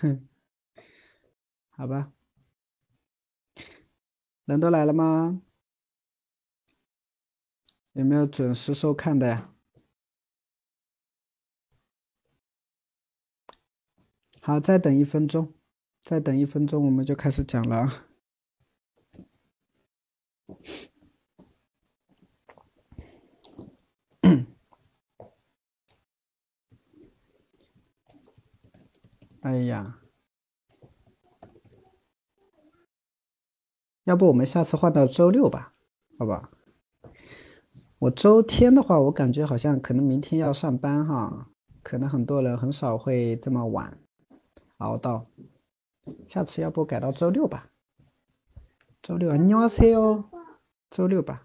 好吧，人都来了吗？有没有准时收看的呀？好，再等一分钟，再等一分钟，我们就开始讲了啊。哎呀，要不我们下次换到周六吧？好吧？我周天的话，我感觉好像可能明天要上班哈，可能很多人很少会这么晚熬到。下次要不改到周六吧？周六，안녕하세요。周六吧。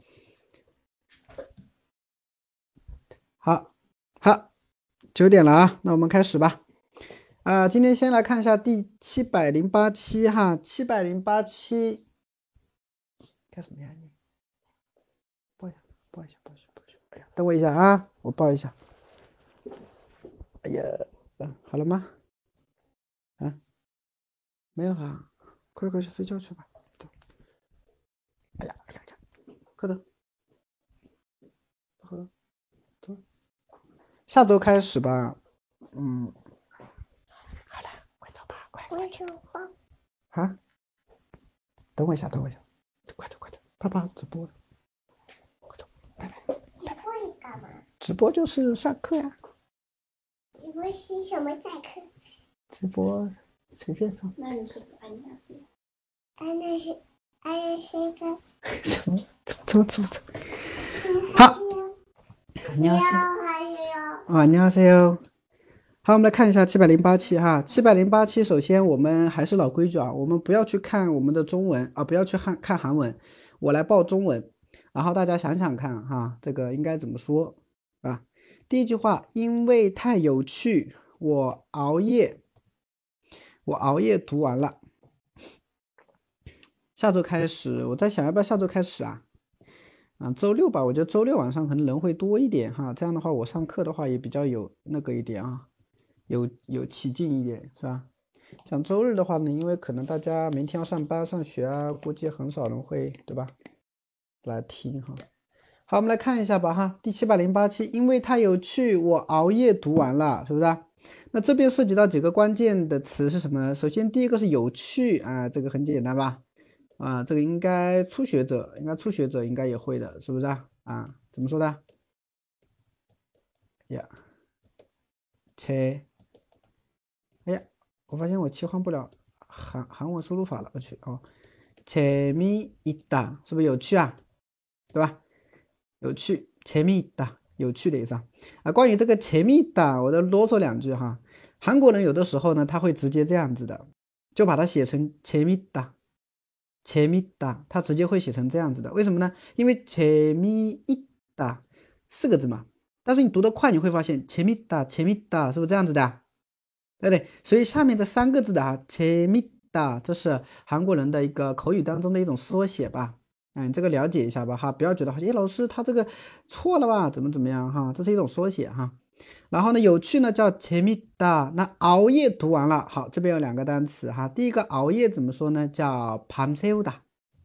好，好，9点了啊，那我们开始吧。今天先来看一下第708期哈，708期，干什么呀你？抱一下，抱一下，抱一下，抱一下。哎呀，等我一下啊，我抱一下。哎呀，好了吗？啊，没有哈，快去睡觉去吧。走。哎呀，哎呀呀，快走，快走，走。下周开始吧。嗯，好了，快走吧，快。 我手棒。 啊，等我一下，等我一下，快走，快走，爸爸直播了，快走，拜拜。 直播你干嘛？ 直播就是上课呀。 直播是什么上课？ 直播随便上。 那你说安娜是？安娜是个。 走。好，你好， 还有。 안녕하세요。好，我们来看一下708期哈。708期，首先我们还是老规矩啊，我们不要去看我们的中文啊，不要去看韩文，我来报中文，然后大家想想看哈，这个应该怎么说啊？第一句话，因为太有趣，我熬夜读完了。下周开始，我在想要不要下周开始啊？周六吧，我觉得周六晚上可能人会多一点哈，这样的话我上课的话也比较有那个一点啊，有起劲一点是吧？像周日的话呢，因为可能大家明天要上班上学啊，估计很少人会对吧来听哈。好，我们来看一下吧哈，第708期，因为太有趣，我熬夜读完了，是不是？那这边涉及到几个关键的词是什么呢？首先第一个是有趣啊，这个很简单吧？这个应该初学者应该也会的，是不是啊？怎么说的？呀，切，哎呀，我发现我切换不了韩文输入法了，我去哦，재미있다是不是有趣啊？对吧？有趣，재미있다有趣的意思啊。关于这个재미있다，我再啰嗦两句哈。韩国人有的时候呢，他会直接这样子的，就把它写成재미있다。재밌다，它直接会写成这样子的，为什么呢？因为재미있다4个字嘛，但是你读得快，你会发现재밌다，재밌다是不是这样子的？对不对？所以下面这3个字的재밌다，这是韩国人的一个口语当中的一种缩写吧？你这个了解一下吧哈，不要觉得老师他这个错了吧？怎么样哈？这是一种缩写哈。然后呢，有趣呢叫재밌다，那熬夜读完了，好，这边有2个单词哈。第一个熬夜怎么说呢？叫밤새우다。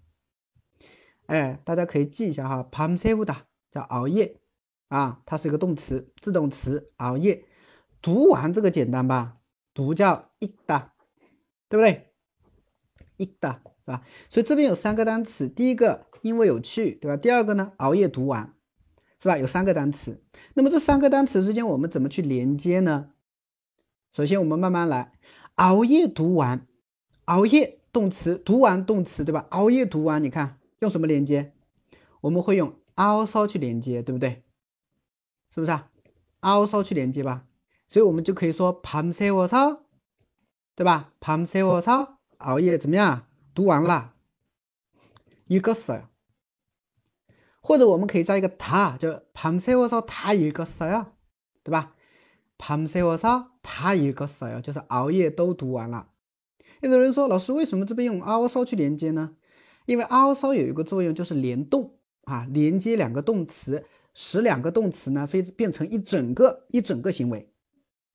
大家可以记一下哈，밤새우다叫熬夜啊，它是一个动词，自动词，熬夜。读完这个简单吧？读叫읽 다， 对不对？읽 다， 是吧？所以这边有3个单词，第一个因为有趣，对吧？第二个呢，熬夜读完，是吧？有3个单词。那么这3个单词之间我们怎么去连接呢？首先我们慢慢来，熬夜读完，熬夜动词，读完动词，对吧？熬夜读完，你看用什么连接？我们会用also去连接，对不对？是不是also去连接吧？所以我们就可以说밤새워서，对吧？밤새워서熬夜怎么样？读完了，읽었어요。或者我们可以加一个다，就밤새워서 다 읽었어요，对吧？밤새워서 다 읽었어요，就是熬夜都读完了。有的人说，老师为什么这边用also去连接呢？因为also有一个作用就是联动连接2个动词，使2个动词呢变成一整个行为。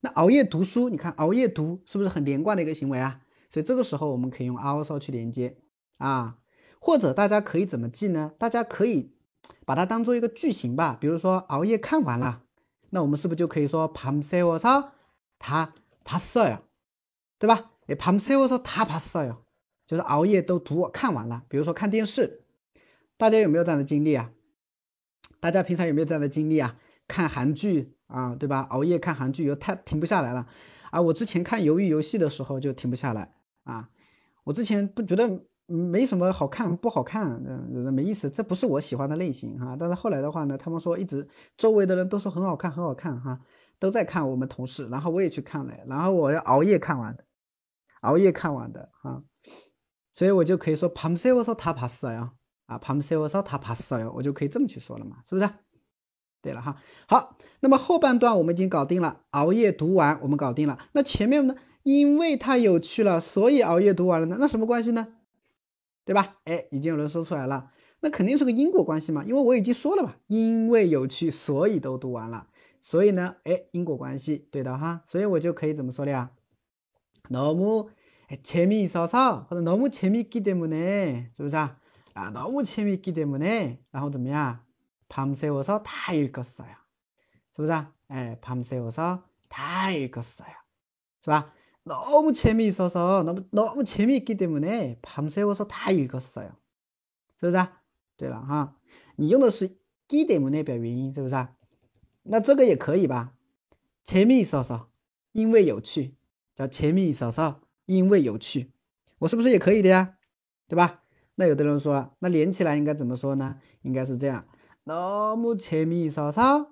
那熬夜读书，你看熬夜读是不是很连贯的一个行为啊？所以这个时候我们可以用 also 去连接啊，或者大家可以怎么记呢？大家可以把它当做一个句型吧，比如说熬夜看完了，那我们是不是就可以说밤새워서 다 봤어요，对吧？밤새워서 다 봤어요，就是熬夜都看完了。比如说看电视，大家有没有这样的经历啊？大家平常有没有这样的经历啊？看韩剧啊，对吧？熬夜看韩剧又停不下来了啊！我之前看鱿鱼游戏的时候就停不下来啊！我之前不觉得没什么好看，不好看，没意思，这不是我喜欢的类型哈。但是后来的话呢，他们说一直周围的人都说很好看，很好看哈，都在看我们同事，然后我也去看了，然后我要熬夜看完的，熬夜看完的哈，所以我就可以说밤새워서 다 봤어요啊，밤새워서 다 봤어요，我就可以这么去说了嘛，是不是？对了哈，好，那么后半段我们已经搞定了，熬夜读完我们搞定了，那前面呢？因为太有趣了，所以熬夜读完了呢，那什么关系呢？对吧？哎，已经有人说出来了，那肯定是个因果关系嘛，因为我已经说了嘛，因为有趣，所以都读完了，所以呢，哎，因果关系，对的哈，所以我就可以怎么说了呀？너무 재미있어서或者너무 재미있기 때문에 是不是啊？啊， 너무 재미있기 때문에 然后怎么样？ 밤새워서 다 읽었어요. 是不是啊？哎， 밤새워서 다 읽었어요. 是吧？ 너무 재미있어서 너무 재미있기 때문에 밤새워서 다 읽었어요. 是不是啊？对了哈，你用的是기 때문에表原因，是不是啊？那这个也可以吧？ 재미있어서 因为有趣，叫 재미있어서 因为有趣，我是不是也可以的呀？对吧？那有的人说，那连起来应该怎么说呢？应该是这样。 너무 재미있어서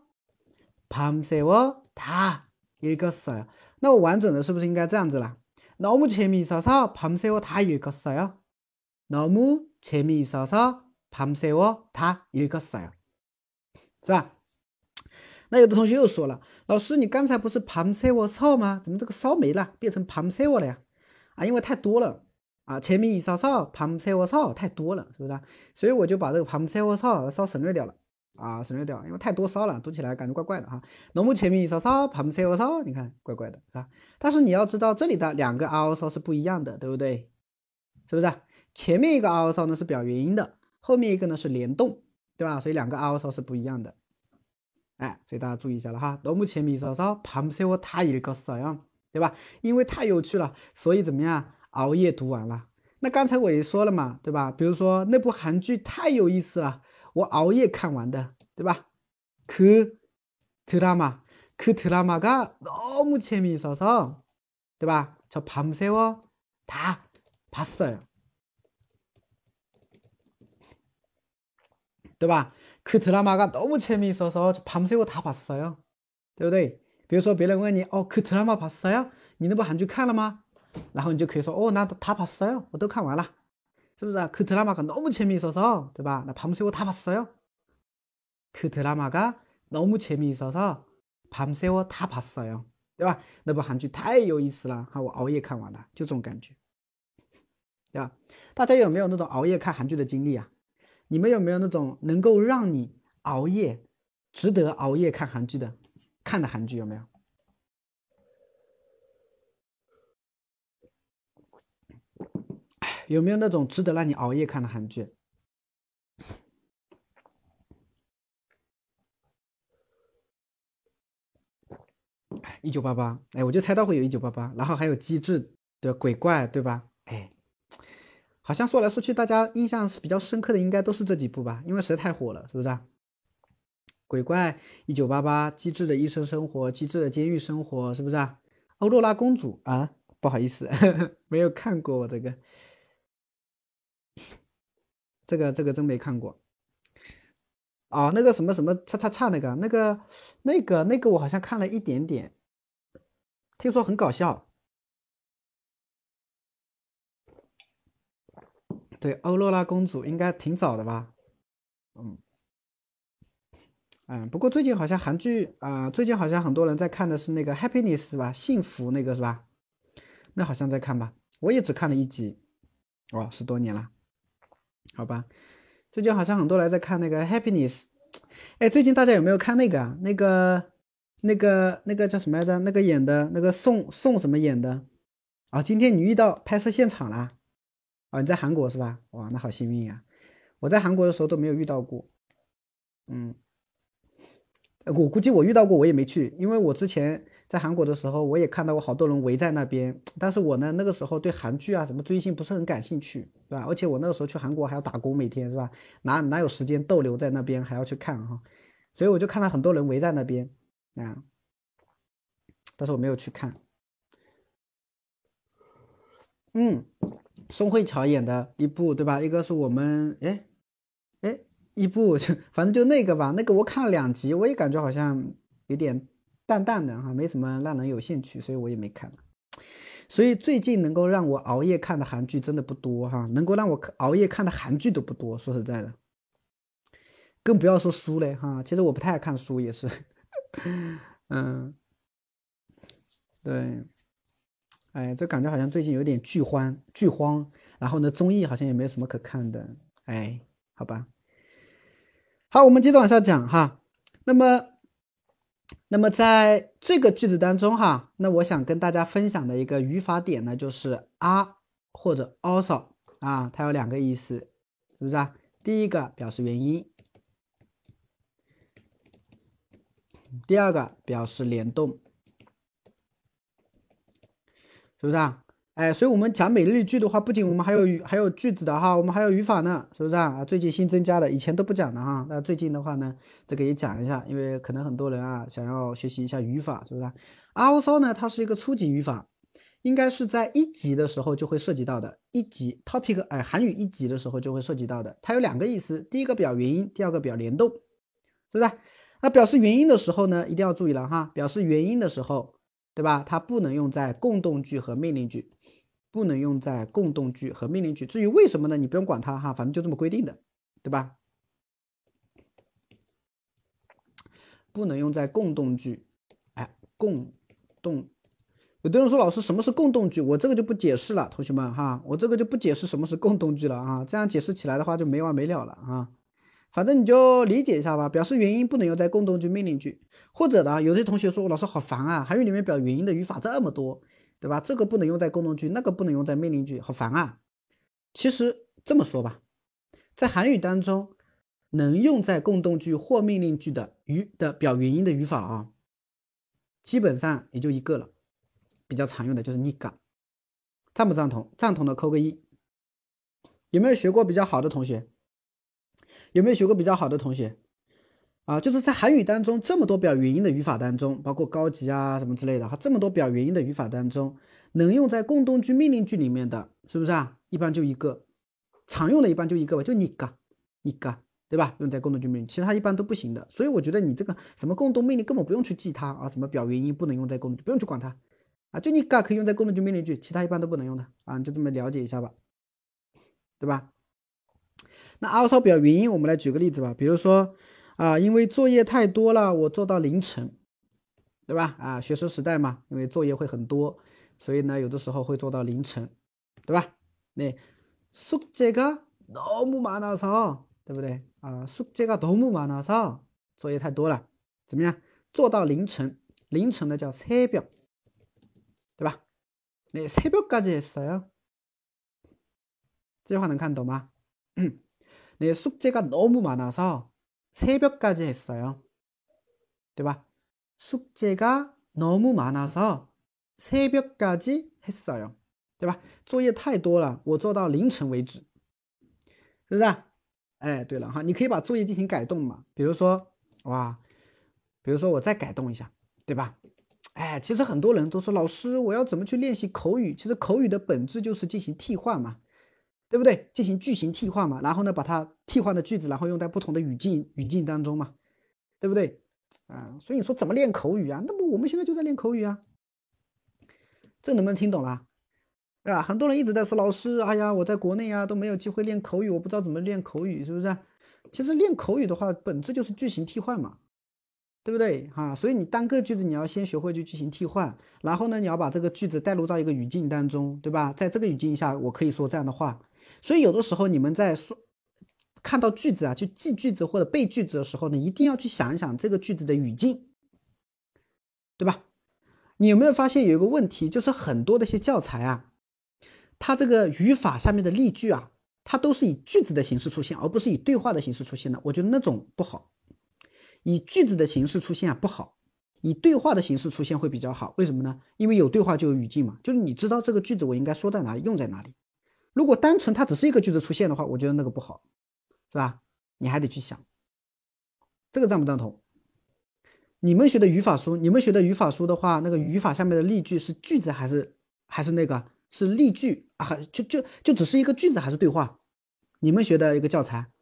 밤새워 다 읽었어요. 那我完整的是不是应该这样子了？ 너무 재미있어서 밤새워 다 읽었어요. 너무 재미있어서 밤새워 다 읽었어요. 是吧？那有的同学又说了，老师，你刚才不是밤새워서吗？怎么这个烧没了，变成밤새워了呀？啊，因为太多了啊，前面이서서 밤새워서太多了，是不是？所以我就把这个밤새워서烧省略掉了啊，省略掉，因为太多烧了，读起来感觉怪怪的哈。너무 재미있어서 밤새워서，你看怪怪的是吧？但是你要知道，这里的两个also是不一样的，对不对？是不是？前面一个also呢是表原因的，后面一个呢是联动，对吧？所以两个also是不一样的。哎，所以大家注意一下了哈。너무 재미있어서 밤새워 다 읽었어요，对吧？因为太有趣了，所以怎么样？熬夜读完了。那刚才我也说了嘛，对吧？比如说那部韩剧太有意思了，我熬夜看完的，对吧？그 드라마， 그 드라마가 너무 재미있어서， 对吧？저 밤새워 다 봤어요， 对吧？그 드라마가 너무 재미있어서 밤새워 다 봤어요， 对不对？比如说别人问你，哦，그 드라마 봤어요？ 你那部韩剧看了吗？然后你就可以说，哦，那다 봤어요， 我都看完了，是不是啊？그 드라마가 너무 재미있어서， 对吧？那밤새워 다 봤어요。 그 드라마가 너무 재미있어서 밤새워 다 봤어요， 对吧？那部韩剧太有意思了，哈，我熬夜看完了，就这种感觉，对吧？大家有没有那种熬夜看韩剧的经历啊？你们有没有那种能够让你熬夜、值得熬夜看韩剧的韩剧有没有？有没有那种值得让你熬夜看的韩剧？1988，哎，我就猜到会有1988，然后还有机智的鬼怪，对吧？哎，好像说来说去，大家印象是比较深刻的，应该都是这几部吧，因为实在太火了，是不是啊？鬼怪、1988、机智的医生生活、机智的监狱生活，是不是啊？欧若拉公主啊，不好意思，没有看过我这个。这个真没看过啊，那个什么什么叉叉叉那个我好像看了一点点，听说很搞笑。对，欧若拉公主应该挺早的吧？不过最近好像韩剧最近好像很多人在看的是那个 Happiness 吧，幸福那个是吧？那好像在看吧，我也只看了一集，哦，10多年了，好吧。最近好像很多人在看那个 Happiness，哎，最近大家有没有看那个那个叫什么来着？那个演的那个宋什么演的？啊，今天你遇到拍摄现场啦？啊，你在韩国是吧？哇，那好幸运呀！我在韩国的时候都没有遇到过。嗯，我估计我遇到过，我也没去，因为我之前在韩国的时候，我也看到过好多人围在那边，但是我呢那个时候对韩剧啊什么追星不是很感兴趣，对吧？而且我那个时候去韩国还要打工，每天是吧？哪有时间逗留在那边还要去看哈？所以我就看到很多人围在那边啊，但是我没有去看。嗯，宋慧乔演的一部，对吧？一个是我们，哎，一部就反正就那个吧，那个我看了2集，我也感觉好像有点淡淡的哈，没什么让人有兴趣，所以我也没看。所以最近能够让我熬夜看的韩剧真的不多哈，能够让我熬夜看的韩剧都不多，说实在的，更不要说书嘞哈。其实我不太爱看书，也是，嗯，对，哎，这感觉好像最近有点剧荒，然后呢，综艺好像也没什么可看的，哎，好吧。好，我们接着往下讲哈。那么，那么在这个句子当中哈，那我想跟大家分享的一个语法点呢，就是啊或者 also 啊，它有2个意思，是不是啊？第一个表示原因，第二个表示联动，是不是啊？哎，所以我们讲每日句的话，不仅我们还有句子的哈，我们还有语法呢，是不是啊？最近新增加的，以前都不讲的哈。那最近的话呢，这个也讲一下，因为可能很多人啊想要学习一下语法，是不是啊？also 呢，它是一个初级语法，应该是在1级的时候就会涉及到的。1级 topic 哎，韩语1级的时候就会涉及到的。它有2个意思，第一个表原因，第二个表联动，是不是啊？那表示原因的时候呢，一定要注意了哈，表示原因的时候，对吧？它不能用在共动句和命令句。不能用在共动句和命令句。至于为什么呢？你不用管它哈，反正就这么规定的，对吧？不能用在共动句。哎，共动。有的人说老师什么是共动句？我这个就不解释了，同学们哈，我这个就不解释什么是共动句了啊，这样解释起来的话就没完没了了啊。反正你就理解一下吧，表示原因不能用在共动句、命令句，或者呢，有些同学说老师好烦啊，韩语里面表原因的语法这么多，对吧？这个不能用在共动句，那个不能用在命令句，好烦啊。其实这么说吧，在韩语当中，能用在共动句或命令句的表原因的语法啊，基本上也就一个了，比较常用的就是니까。赞不赞同？赞同的扣个1。有没有学过比较好的同学？有没有学过比较好的同学？啊，就是在韩语当中这么多表原因的语法当中，包括高级啊什么之类的哈，这么多表原因的语法当中，能用在共动句、命令句里面的，是不是啊？一般就一个，常用的一般就一个吧，就니까，对吧？用在共动句、命令，其他一般都不行的。所以我觉得你这个什么共动命令根本不用去记它啊，什么表原因不能用在共动句，不用去管它啊，就니까可以用在共动句、命令句，其他一般都不能用的啊，你就这么了解一下吧，对吧？那 also 表原因，我们来举个例子吧，比如说啊，因为作业太多了，我做到凌晨，对吧？啊，学生时代嘛，因为作业会很多，所以呢，有的时候会做到凌晨，对吧？那숙제가 너무 많아서，对不对？啊，숙제가 너무 많아서作业太多了，怎么样？做到凌晨，凌晨的叫새벽，对吧？那새벽까지 했어요。这句话能看懂吗？네, 숙제가 너무 많아서 새벽까지 했어요. 对吧? 숙제가 너무 많아서 새벽까지 했어요. 对吧？做业太多了，我做到凌晨为止，是不是？哎，对了哈，你可以把作业进行改动嘛，比如说，哇，比如说我再改动一下，对吧？哎，其实很多人都说老师，我要怎么去练习口语？其实口语的本质就是进行替换嘛，对不对？进行句型替换嘛，然后呢，把它替换的句子，然后用在不同的语境当中嘛，对不对？所以你说怎么练口语啊？那么我们现在就在练口语啊，这能不能听懂啦？对吧？很多人一直在说老师，哎呀，我在国内啊都没有机会练口语，我不知道怎么练口语，是不是？其实练口语的话，本质就是句型替换嘛，对不对？哈，所以你单个句子你要先学会去句型替换，然后呢，你要把这个句子带入到一个语境当中，对吧？在这个语境下，我可以说这样的话。所以有的时候你们在说看到句子啊，去记句子或者背句子的时候呢，一定要去想一想这个句子的语境， 对吧？你有没有发现有一个问题，就是很多的一些教材啊，它这个语法下面的例句啊，它都是以句子的形式出现，而不是以对话的形式出现的。我觉得那种不好，以句子的形式出现啊不好，以对话的形式出现会比较好。为什么呢？因为有对话就有语境嘛，就是你知道这个句子我应该说在哪里，用在哪里。如果单纯它只是一个句子出现的话，我觉得那个不好，是吧？你还得去想，这个赞不赞同？你们学的语法书，的话，那个语法下面的例句是句子还是那个是例句啊？就只是一个句子还是对话？你们学的一个教材，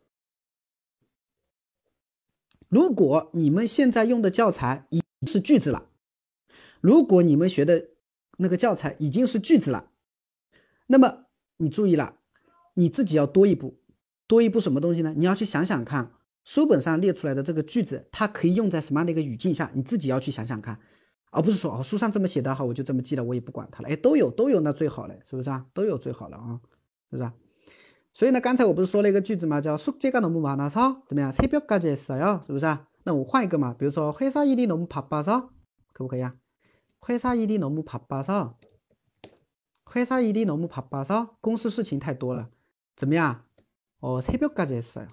如果你们现在用的教材已经是句子了，如果你们学的那个教材已经是句子了，那么你注意了，你自己要多一步，多一步什么东西呢？你要去想想看，书本上列出来的这个句子，它可以用在什么样的一个语境下？你自己要去想想看，而不是说书上这么写的好，我就这么记了，我也不管它了。哎，都有那最好了，是不是啊？都有最好了啊，是不是啊？所以呢，刚才我不是说了一个句子吗？叫숙제가 너무 많아서怎么样？ 새벽까지 했어요， 是不是啊？那我换一个嘛，比如说회사 일이 너무 바빠서， 可不可以啊？회사 일이 너무 바빠서， 회사 일이 너무 바빠서， 公司事情太多了，怎么样？새벽까지 했어요，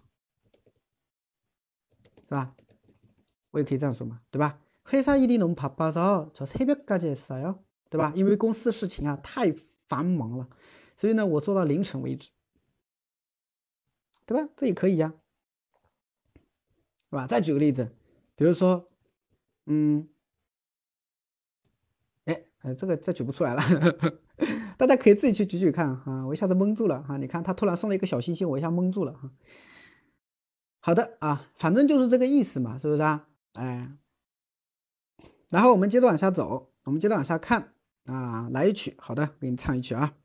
是吧？我也可以这样说嘛，对吧？회사 일이 너무 바빠서 저 새벽까지 했어요， 对吧？因为公司事情啊太繁忙了，所以呢，我做到凌晨为止，对吧？这也可以呀，是吧？再举个例子，比如说，这个再举不出来了，大家可以自己去举举看哈，我一下子蒙住了哈。你看他突然送了一个小心心，我一下蒙住了哈。好的啊，反正就是这个意思嘛，是不是啊？哎，然后我们接着往下走，我们接着往下看啊，来一曲，好的，给你唱一曲啊。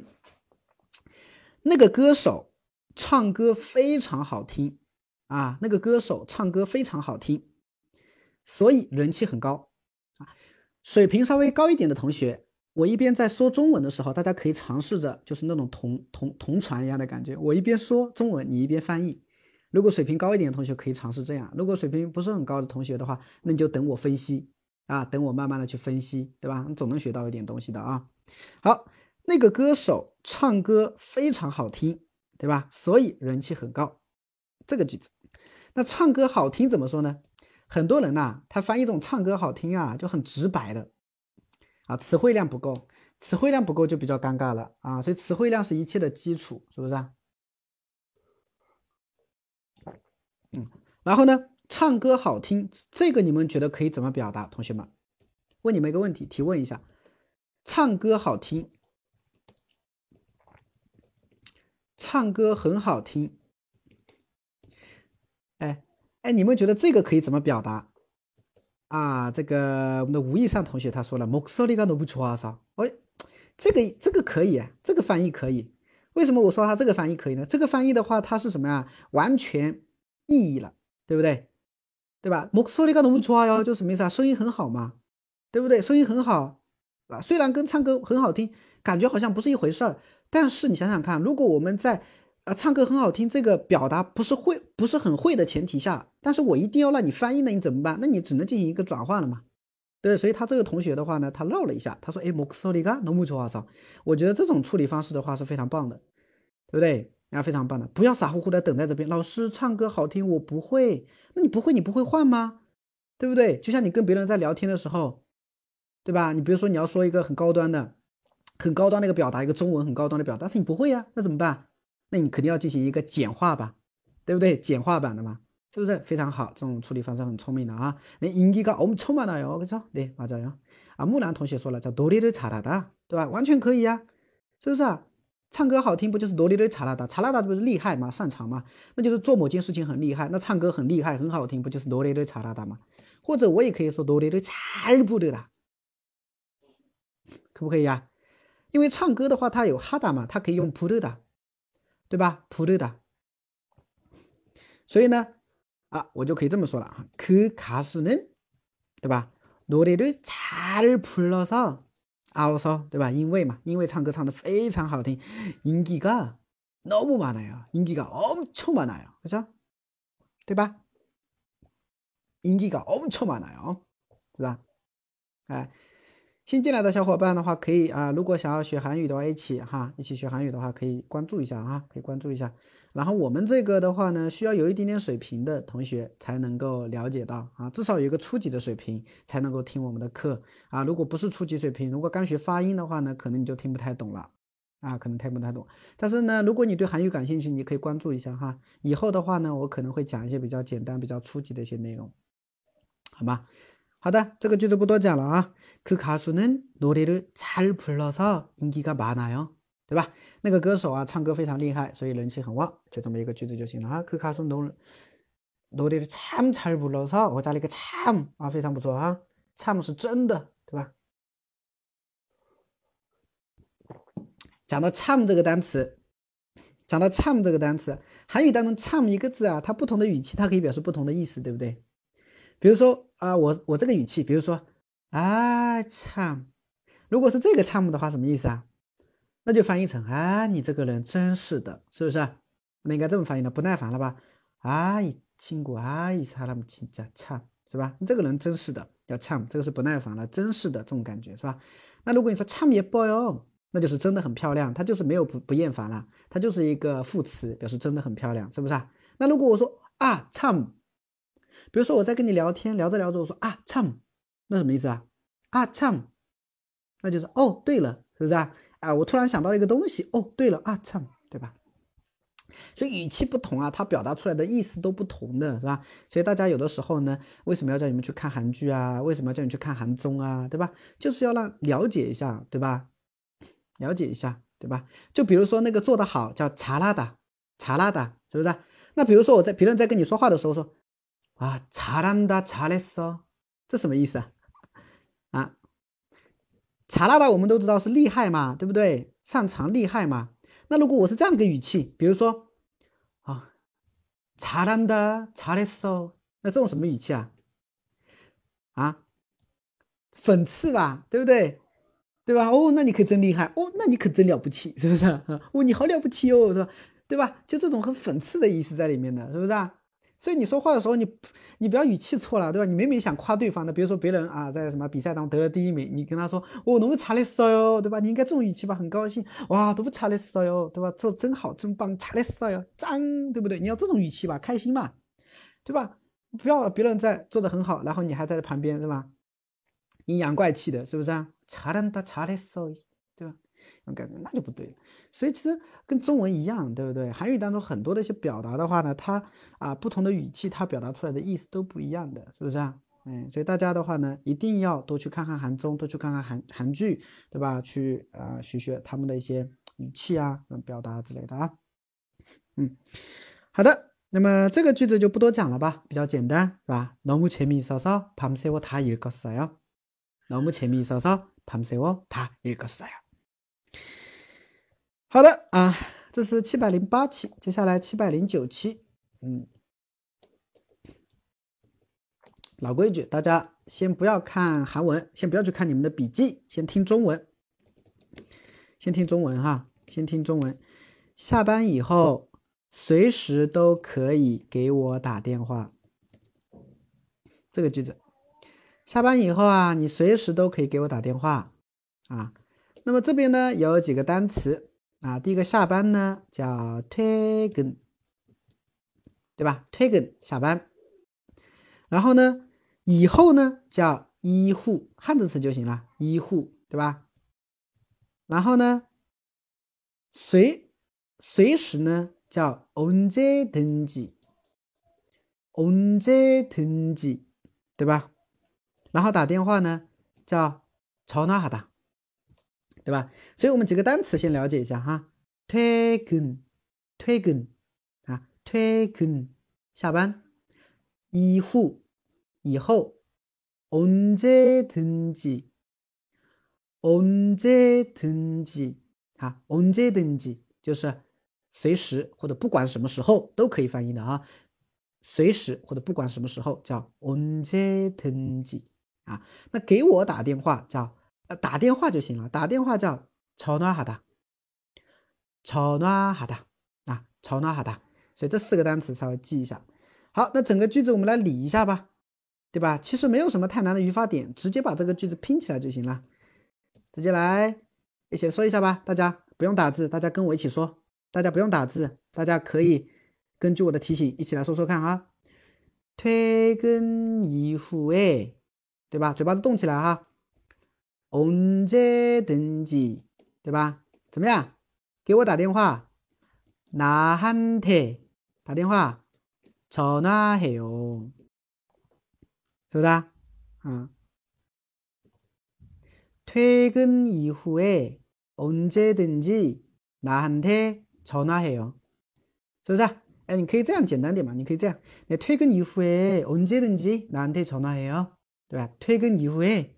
那个歌手唱歌非常好听啊，那个歌手唱歌非常好听，所以人气很高啊。水平稍微高一点的同学，我一边在说中文的时候，大家可以尝试着就是那种同传一样的感觉，我一边说中文，你一边翻译。如果水平高一点的同学可以尝试这样，如果水平不是很高的同学的话，那你就等我分析啊，等我慢慢的去分析，对吧？你总能学到一点东西的啊。好，那个歌手唱歌非常好听，对吧？所以人气很高，这个句子。那唱歌好听怎么说呢？很多人呐，他翻译这种唱歌好听啊，就很直白的啊，词汇量不够，词汇量不够就比较尴尬了啊。所以词汇量是一切的基础，是不是啊？然后呢，唱歌好听，这个你们觉得可以怎么表达？同学们，问你们一个问题，提问一下，唱歌好听，唱歌很好听，哎，你们觉得这个可以怎么表达啊？这个我们的吴亦善同学他说了，목소리가너무좋아서，哎，这个可以，这个翻译可以。为什么我说他这个翻译可以呢？这个翻译的话，它是什么呀？完全意义了，对不对？对吧？목소리가너무좋아요，就什么意思啊？声音很好嘛，对不对？声音很好，啊，虽然跟唱歌很好听，感觉好像不是一回事儿，但是你想想看，如果我们在唱歌很好听这个表达不是很会的前提下，但是我一定要让你翻译呢，你怎么办？那你只能进行一个转换了嘛。对，所以他这个同学的话呢，他绕了一下，他说：“哎，목소리가너무좋아서。”我觉得这种处理方式的话是非常棒的，对不对？啊，非常棒的，不要傻乎乎的等在这边。老师唱歌好听，我不会，那你不会，你不会换吗？对不对？就像你跟别人在聊天的时候，对吧？你比如说你要说一个很高端的一个表达，一个中文很高端的表达，但是你不会呀，那怎么办？那你肯定要进行一个简化吧，对不对？简化版的嘛，是不是非常好？这种处理方式很聪明的啊。那인기가엄청많아요， 그죠？对，맞아요。啊，木兰同学说了，叫노래를잘하다，对吧？完全可以呀，是不是啊？唱歌好听不就是노래를잘하다？잘하다不是厉害吗？擅长吗？那就是做某件事情很厉害，那唱歌很厉害很好听，不就是노래를잘하다吗？或者我也可以说노래를잘부르다，可不可以呀？因为唱歌的话，它有哈达嘛，它可以用부르다，对吧？부르다。所以呢，啊，我就可以这么说了啊，그 가수는，对吧？노래를 잘 불러서，아워서，对吧？因为嘛，因为唱歌唱得非常好听，인기가 너무 많아요， 인기가 엄청 많아요， 그죠？对吧？인기가 엄청 많아요，对吧？ 哎，新进来的小伙伴的话，可以如果想要学韩语的话，一起学韩语的话，可以关注一下可以关注一下。然后我们这个的话呢，需要有一点点水平的同学才能够了解到至少有一个初级的水平才能够听我们的课如果不是初级水平，如果刚学发音的话呢，可能你就听不太懂了可能听不太懂。但是呢，如果你对韩语感兴趣，你可以关注一下以后的话呢，我可能会讲一些比较简单、比较初级的一些内容，好吗？好的，这个句子不多讲了그 가수는 노래를 잘 불러서 인기가 많아요. 对吧？那个歌手唱歌非常厉害，所以人气很旺，就这么一个句子就行了그 가수 노래를 참 잘 불러서 我加了一个참非常不错참是真的，对吧？讲到참这个单词，韩语当中참一个字它不同的语气它可以表示不同的意思，对不对？比如说我这个语气，比如说참，如果是这个참的话，什么意思那就翻译成你这个人真是的，是不是？那应该这么翻译的，不耐烦了吧？이 친구 이 사람 진짜 참，是吧？你这个人真是的，叫참，这个是不耐烦了，真是的这种感觉，是吧？那如果你说참 예뻐요，那就是真的很漂亮，它就是没有不厌烦了，它就是一个副词，表示真的很漂亮，是不是那如果我说참，比如说我在跟你聊天，聊着聊着我说참，那什么意思참，那就是对了，是不是我突然想到了一个东西，对了참，对吧？所以语气不同它表达出来的意思都不同的，是吧？所以大家有的时候呢，为什么要叫你们去看韩剧为什么要叫你去看韩综对吧？就是要了解一下，对吧？了解一下，对吧？就比如说那个做得好叫잘하다，是不是那比如说别人在跟你说话的时候说잘한다 잘했어，这什么意思잘하다我们都知道是厉害嘛，对不对？擅长厉害嘛。那如果我是这样的一个语气，比如说잘한다 잘했어，那这种什么语气讽刺吧，对不对？对吧？那你可真厉害那你可真了不起，是不是你好了不起是吧？对吧？就这种很讽刺的意思在里面的，是不是所以你说话的时候，你不要语气错了，对吧？你明明想夸对方的，比如说别人在什么比赛当中得了第1名，你跟他说너무 잘했어요，对吧？你应该这种语气吧，很高兴，哇너무 잘했어요，对吧？做真好，真棒，잘했어요，짱，对不对？你要这种语气吧，开心嘛，对吧？不要别人在做的很好，然后你还在旁边，是吧？阴阳怪气的，是不是잘한다 잘했어，对吧？那就不对了。所以其实跟中文一样，对不对？韩语当中很多的一些表达的话呢，它不同的语气，它表达出来的意思都不一样的，是不是所以大家的话呢，一定要多去看看韩综，多去看看韩剧，对吧？去学他们的一些语气表达之类的好的，那么这个句子就不多讲了吧，比较简单，是吧？너무 재미있어서 밤새워 다 읽었어요。 너무 재미있어서 밤새워 다 읽었어요。 好的这是708期，接下来709期。老规矩，大家先不要看韩文，先不要去看你们的笔记，先听中文。先听中文先听中文。下班以后随时都可以给我打电话。这个句子，下班以后你随时都可以给我打电话那么这边呢有几个单词第一个下班呢叫퇴근，对吧？퇴근下班。然后呢以后呢叫이후，汉字词就行了，이후，对吧？然后呢随时呢叫언제든지，对吧？然后打电话呢叫전화하다，对吧？所以我们几个单词先了解一下퇴근 퇴근下班，이후以后，언제든지 언제든지就是随时或者不管什么时候都可以翻译的随时或者不管什么时候叫언제든지那给我打电话叫打电话就行了，打电话叫전화하다，전화하다，所以这4个单词稍微记一下。好，那整个句子我们来理一下吧。 对吧？其实没有什么太难的语法点，直接把这个句子拼起来就行了。直接来一起说一下吧，大家不用打字，大家跟我一起说。大家不用打字，大家可以根据我的提醒一起来说说看哈。퇴근이후에，对吧？嘴巴都动起来哈。언제든지，对吧？怎么样？给我打电话。나한테打电话。전화해요，是不是啊？퇴근 이후에 언제든지 나한테 전화해요，是不是啊？哎，你可以这样简单点嘛？你可以这样，你퇴근 이후에 언제든지 나한테 전화해요，对吧？퇴근 이후에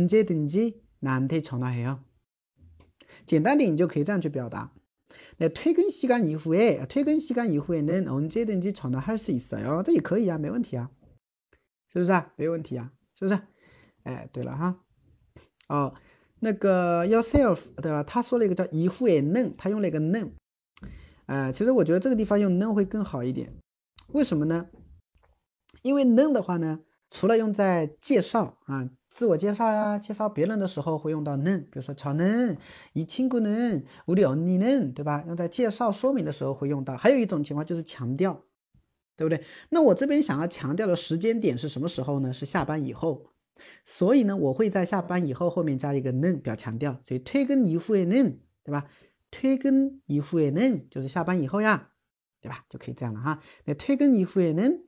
언제든지 나한테 전화해요，简单点你就可以这样去表达。퇴근 시간 이후에 퇴근 시간 이후에는 언제든지 전화할 수 있어요，这也可以啊，没问题啊，是不是啊？没有问题啊，是不是？哎，对了哈，哦，那个 yourself 对吧？他说了一个叫이후에 는，他用了一个는，其实我觉得这个地方用는会更好一点，为什么呢？因为는的话呢，除了用在介绍啊、自我介绍呀、介绍别人的时候会用到는，比如说저는 이 친구는 우리 언니는，对吧？用在介绍说明的时候会用到。还有一种情况就是强调，对不对？那我这边想要强调的时间点是什么时候呢？是下班以后。所以呢，我会在下班以后后面加一个는表强调，所以퇴근 이후에는，对吧？퇴근 이후에는就是下班以后呀，对吧？就可以这样了哈。那퇴근 이후에는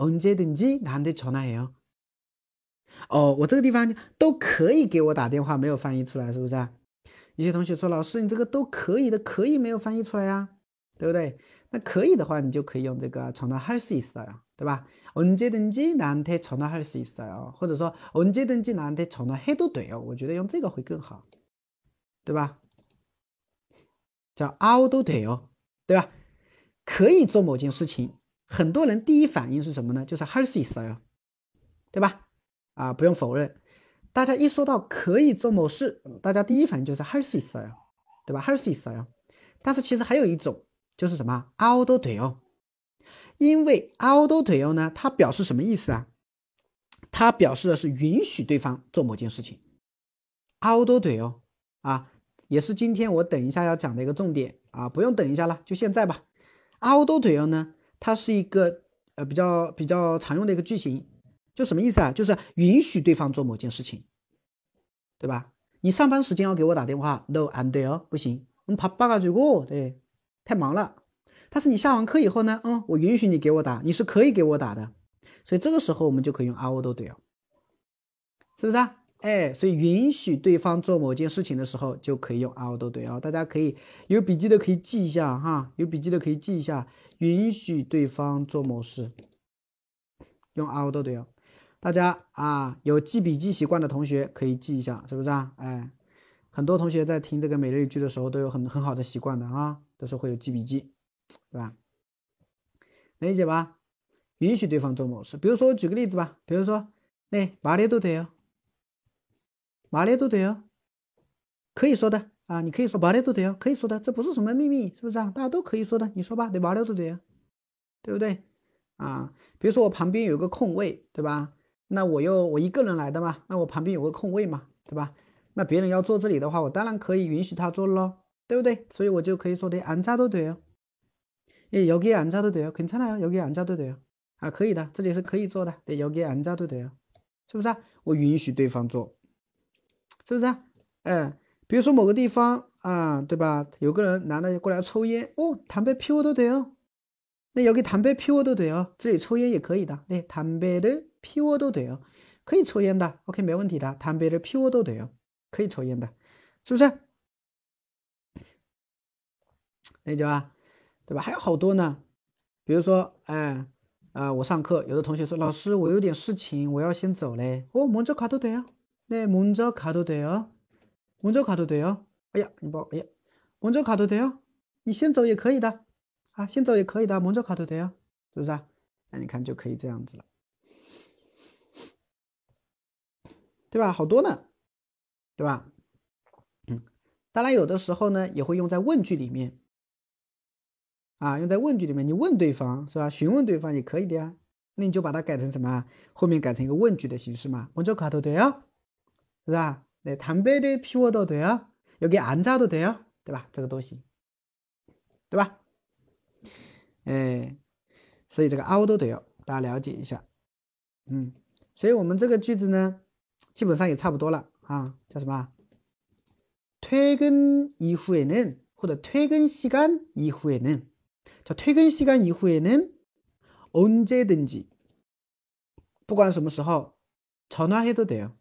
언제든지 나한테 전화해요。哦，我这个地方都可以给我打电话，没有翻译出来，是不是啊？有些同学说，老师，你这个都可以的，可以没有翻译出来呀，对不对？那可以的话，你就可以用这个전화할 수 있어요，对吧？ 언제든지 나한테 전화할 수 있어요，或者说 언제든지 나한테 전화해도 돼요，我觉得用这个会更好，对吧？叫아우도 돼요，对吧？可以做某件事情，很多人第一反应是什么呢？就是할 수 있어요，对吧？啊，不用否认，大家一说到可以做某事，大家第一反应就是할 수 있어요，对吧？할 수 있어요。但是其实还有一种就是什么아우도 돼요，因为아우도 돼요呢，它表示什么意思啊？它表示的是允许对方做某件事情。아우도 돼요啊，也是今天我等一下要讲的一个重点啊，不用等一下了，就现在吧。아우도 돼요呢，它是一个比较常用的一个句型，就什么意思啊？就是允许对方做某件事情，对吧？你上班时间要给我打电话 ，no 안 돼요，不行，바빠가지고，对，太忙了。但是你下完课以后呢，我允许你给我打，你是可以给我打的，所以这个时候我们就可以用아우도 돼요，是不是啊？哎，所以允许对方做某件事情的时候，就可以用아우도 돼요。大家可以有笔记的可以记一下哈，有笔记的可以记一下，允许对方做某事，用아우도 돼요。大家啊，有记笔记习惯的同学可以记一下，是不是啊？哎，很多同学在听这个每日一句的时候都有很好的习惯的啊，都是会有记笔记，对吧？能理解吧？允许对方做某事，比如说我举个例子吧，比如说，말해도 돼요，말해도 돼요，可以说的啊，你可以说말해도 돼요，可以说的，这不是什么秘密，是不是啊？大家都可以说的，你说吧，말해도 돼요，对不对？啊，比如说我旁边有个空位，对吧？那我一个人来的嘛，那我旁边有个空位嘛，对吧？那别人要坐这里的话，我当然可以允许他坐咯，对不对？所以我就可以说的앉아도 돼요，여기에 앉아도 돼요， 괜찮아요， 여기에 앉아도 돼요，啊，可以的，这里是可以坐的，对，여기에 앉아도 돼요，是不是啊？我允许对方坐，是不是啊？比如说某个地方啊，对吧？有个人男的过来抽烟，담배 피워도 돼요。那여기 담배 피워도 돼요，这里抽烟也可以的，담배를 피워도 돼요，可以抽烟的 ，OK， 没问题的，담배를 피워도 돼요，可以抽烟的，是不是？理解吧？对吧？还有好多呢，比如说，我上课，有的同学说，老师，我有点事情，我要先走嘞。먼저 가도 돼요？ 네， 먼저 가도 돼요， 먼저 가도 돼요。哎呀，먼저 가도 돼요？ 你先走也可以的，啊，先走也可以的，먼저 가도 돼요，是不是啊？那你看就可以这样子了，对吧？好多呢，对吧？当然有的时候呢也会用在问句里面，啊，用在问句里面，你问对方是吧？询问对方也可以的呀。 那你就把它改成什么？后面改成一个问句的形式嘛。먼저 가도 돼요？ 是吧？네 담배를 피워도 돼요？ 여기 앉아도 돼요？ 对吧？这个东西，对吧？哎，所以这个凹都돼요，大家了解一下。所以我们这个句子呢，基本上也差不多了啊。叫什么？퇴근 이후에는或者퇴근 시간 이후에는， 자 퇴근 시간 이후에는 언제든지 不管什么时候 전화해도 돼요，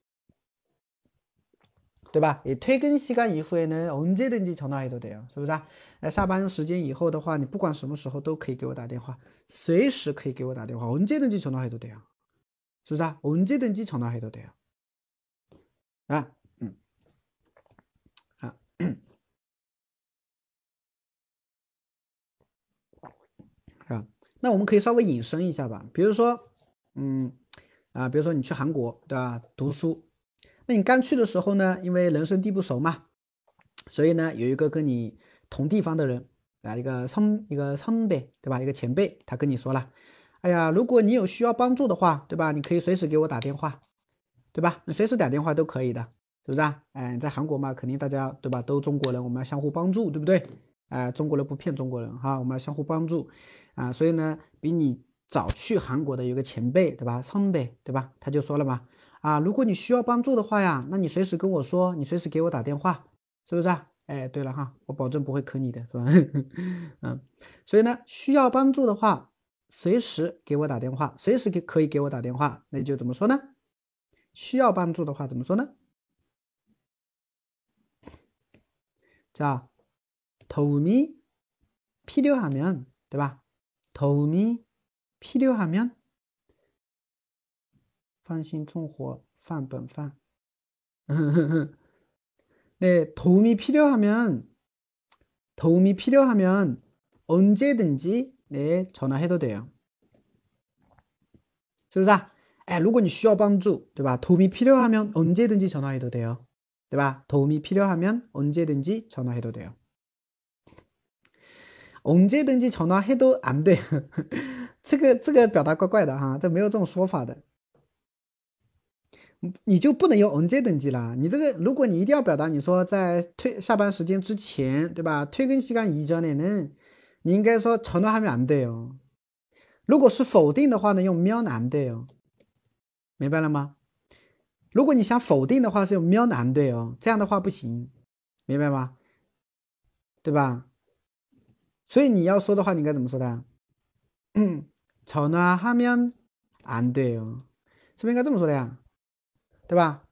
对吧？也퇴근 시간 이후에는 언제든지 전화해도 돼요， 是不是啊？下班时间以后的话，你不管什么时候都可以给我打电话，随时可以给我打电话， 언제든지 전화해도 돼요， 是不是啊？ 언제든지 전화해도 돼요， 啊，啊，那我们可以稍微引申一下吧，比如说，比如说你去韩国，对吧？读书，那你刚去的时候呢，因为人生地不熟嘛，所以呢，有一个跟你同地方的人啊，一个선배，对吧？一个前辈，他跟你说了，哎呀，如果你有需要帮助的话，对吧？你可以随时给我打电话，对吧？你随时打电话都可以的，是不是啊？哎，在韩国嘛，肯定大家对吧？都中国人，我们要相互帮助，对不对？中国人不骗中国人哈，我们要相互帮助啊。所以呢，比你早去韩国的有个前辈，对吧？선배，对吧？他就说了嘛，啊，如果你需要帮助的话呀，那你随时跟我说，你随时给我打电话，是不是啊？哎，对了哈，我保证不会坑你的，是吧？所以呢，需要帮助的话，随时给我打电话，随时可以给我打电话，那就怎么说呢？需要帮助的话怎么说呢？자 도움이 필요하면, 对吧？ 도움이 필요하면 放心种活饭本饭。네, 도움이 필요하면 언제든지 네, 전화해도 돼요. 是不是啊？哎，如果你需要帮助，对吧？ 도움이 필요하면 언제든지 전화해도 돼요. 对吧？ 도움이 필요하면 언제든지 전화해도 돼요. 언제든지 전화해도 안 돼. 这个表达怪怪的哈，这没有这种说法的。你就不能用 언제든지啦。你这个，如果你一定要表达，你说在下班时间之前，对吧？ 퇴근 시간 이전에는， 你应该说 전화하면 안 돼요。 如果是否定的话呢，用면 안 돼요。 明白了吗？如果你想否定的话，是用면 안 돼요。 这样的话不行，明白吗？对吧？所以你要说的话，你应该怎么说的？전화하면 안 돼요， 是不是应该这么说的呀？对吧？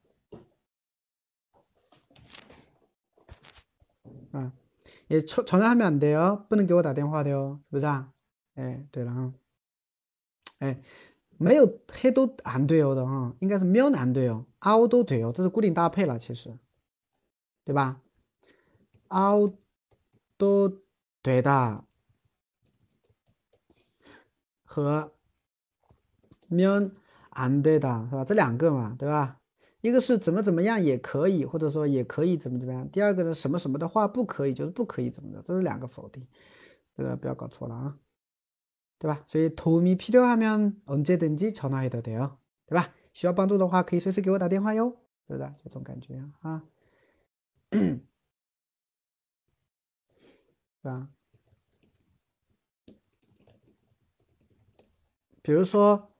啊，也전화하면 안 돼요， 不能给我打电话的哟，是不是啊？哎，对了哈，哎，没有해도 안 돼요的哈，应该是면 안 돼요， 凹都돼요，这是固定搭配了，其实，对吧？凹都되다和면 안 되다是吧？这两个嘛，对吧？一个是怎么怎么样也可以，或者说也可以怎么怎么样。第二个呢，什么什么的话不可以，就是不可以怎么的，这是两个否定，这个不要搞错了啊，对吧？所以도움이 필요하면 언제든지 전화해도 돼요， 对吧？需要帮助的话，可以随时给我打电话哟，是不是？这种感觉啊，对吧？比如说，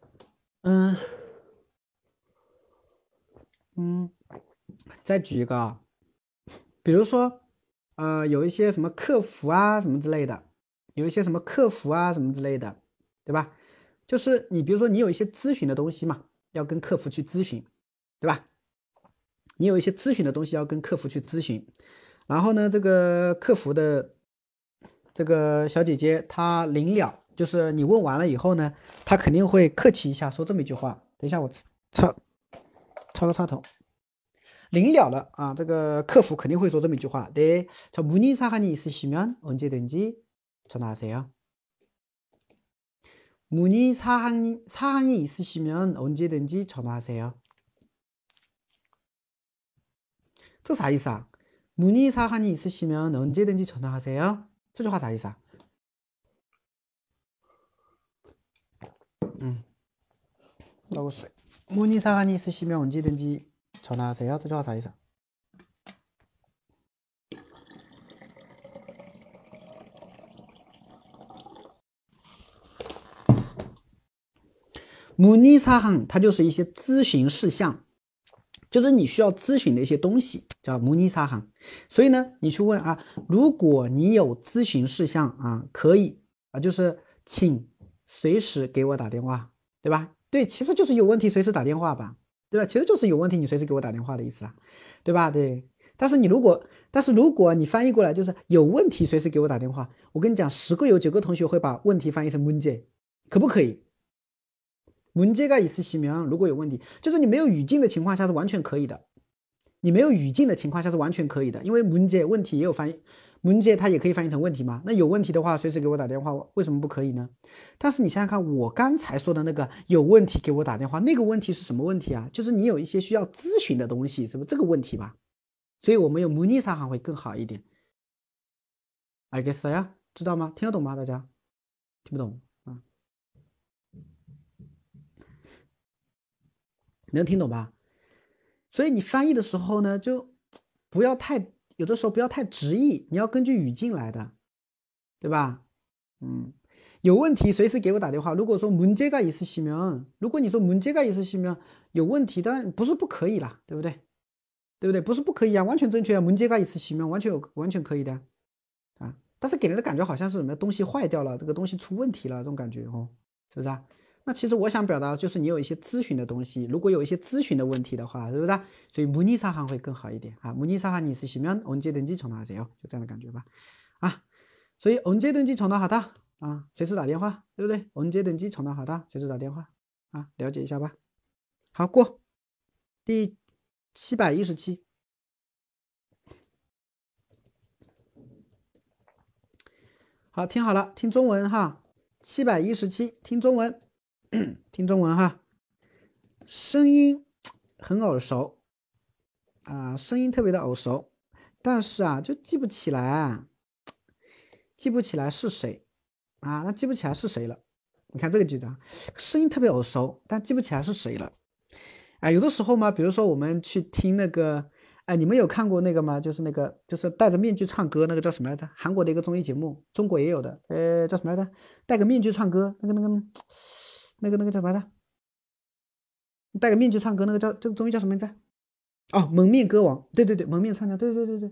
再举一个啊，比如说，有一些什么客服啊什么之类的，有一些什么客服啊什么之类的，对吧？就是你比如说你有一些咨询的东西嘛，要跟客服去咨询，对吧？你有一些咨询的东西要跟客服去咨询，然后呢，这个客服的这个小姐姐她临了，就是你问完了以后呢，她肯定会客气一下说这么一句话。等一下我插个插头。临了了啊，这个客服肯定会说这么一句话：네，저 문의 사항이 있으시면 언제든지 전화하세요。 문의 사항이 있으시면 언제든지 전화하세요。 这啥意思啊？ 문의 사항이 있으시면 언제든지 전화하세요。 这句话啥意思啊？ 넣을 수. 문의 사항이 있으시면 언제든지 전화하세요.这句话啥意思? 문의 사항它就是一些咨询事项，就是你需要咨询的一些东西，叫문의 사항。所以呢，你去问啊，如果你有咨询事项啊，可以啊，就是请随时给我打电话，对吧？对，其实就是有问题随时打电话吧，对吧？其实就是有问题你随时给我打电话的意思啊，对吧？对。但是如果你翻译过来就是有问题随时给我打电话，我跟你讲，10个有9个同学会把问题翻译成문제，可不可以？문제가 있으시면如果有问题，就是你没有语境的情况下是完全可以的。你没有语境的情况下是完全可以的，因为문제问题也有翻译，문제它也可以翻译成问题嘛。那有问题的话，随时给我打电话，为什么不可以呢？但是你想想看，我刚才说的那个有问题给我打电话，那个问题是什么问题啊？就是你有一些需要咨询的东西，是不是这个问题吧？所以我们用문의 사항会更好一点。알겠어요？知道吗？听得懂吗？大家听不懂啊？能听懂吧？所以你翻译的时候呢，就不要太，有的时候不要太直译，你要根据语境来的，对吧？有问题随时给我打电话。如果说문제가 있으시면，如果你说문제가 있으시면有问题，当然不是不可以啦，对不对？对不对？不是不可以啊，完全正确啊，문제가 있으시면完全可以的啊。但是给人的感觉好像是什么东西坏掉了，这个东西出问题了，这种感觉哦，是不是啊？那其实我想表达就是你有一些咨询的东西，如果有一些咨询的问题的话，是不是啊？所以문의 사항会更好一点啊。문의 사항이 있으시면 언제든지 전화하세요，就这样的感觉吧。啊，所以언제든지 전화하다啊，随时打电话，对不对？언제든지 전화하다，随时打电话啊，了解一下吧。好，过第717。好，听好了，听中文哈。717，听中文，听中文哈。声音很耳熟啊，声音特别的耳熟，但是啊，就记不起来，记不起来是谁啊？那记不起来是谁了？你看这个句子啊，声音特别耳熟，但记不起来是谁了。哎，有的时候嘛，比如说我们去听那个，哎，你们有看过那个吗？就是那个，就是戴着面具唱歌，那个叫什么来着？韩国的一个综艺节目，中国也有的，叫什么来着？戴个面具唱歌，那个叫什么来着？戴个面具唱歌，那个叫这个综艺叫什么名字？哦，蒙面歌王，对对对，蒙面唱将，对对对对，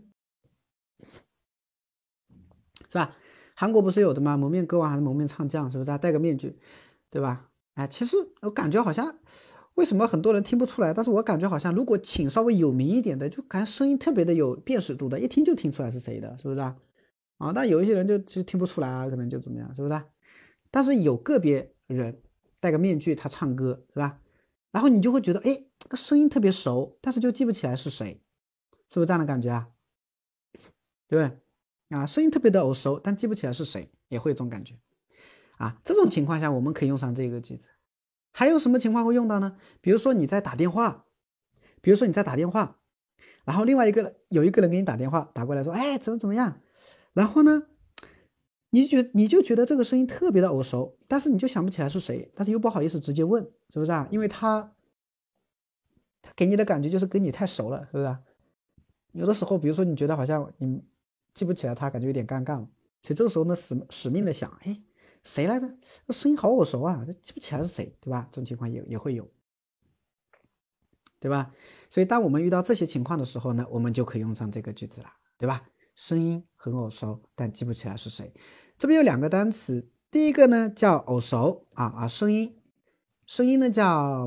是吧？韩国不是有的吗？蒙面歌王还是蒙面唱将，是不是？戴个面具，对吧？哎，其实我感觉好像，为什么很多人听不出来？但是我感觉好像，如果请稍微有名一点的，就感觉声音特别的有辨识度的，一听就听出来是谁的，是不是啊？啊，但有一些人就其实听不出来啊，可能就怎么样，是不是？但是有个别人戴个面具，他唱歌，是吧？然后你就会觉得，哎，这个声音特别熟，但是就记不起来是谁，是不是这样的感觉啊？对不对？啊，声音特别的耳熟，但记不起来是谁，也会有这种感觉啊。这种情况下，我们可以用上这个句子。还有什么情况会用到呢？比如说你在打电话，然后另外有一个人给你打电话打过来说，哎，怎么样？然后呢，你就觉得这个声音特别的耳熟，但是你就想不起来是谁，但是又不好意思直接问，是不是啊？因为他给你的感觉就是跟你太熟了，是不是啊？有的时候，比如说你觉得好像你记不起来他，感觉有点尴尬了，所以这个时候呢，使命的想，哎，谁来着？这声音好耳熟啊，记不起来是谁，对吧？这种情况也会有，对吧？所以当我们遇到这些情况的时候呢，我们就可以用上这个句子了，对吧？声音很耳熟，但记不起来是谁。这边有2个单词，第一个呢叫耳熟啊，声音呢叫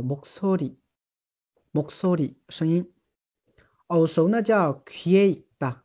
목소리声音，耳熟呢叫귀에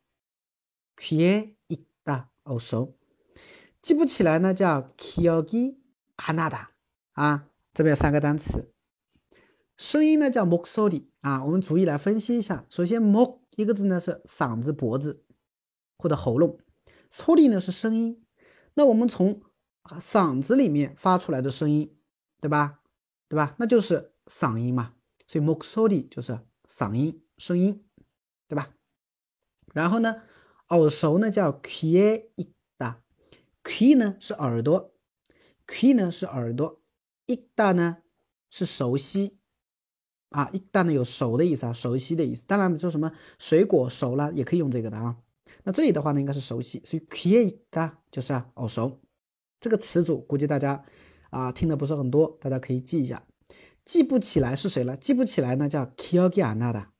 있다，耳熟。记不起来呢叫기억이 안 나다啊，这边有3个单词。声音呢叫목소리啊，我们逐一来分析一下。首先목一个字呢是嗓子、脖子或者喉咙，소리呢是声音。那我们从嗓子里面发出来的声音，对吧？那就是嗓音嘛。所以목소리就是嗓音、声音，对吧？然后呢，耳熟呢叫귀에 있다，귀呢是耳朵，귀呢是耳朵 익다呢是熟悉啊，익다呢有熟的意思啊，熟悉的意思。当然说什么水果熟了也可以用这个的啊。那这里的话呢应该是熟悉，所以귀에 익다就是耳熟。这个词组估计大家听的不是很多，大家可以记一下。记不起来是谁了？记不起来呢叫기억이 안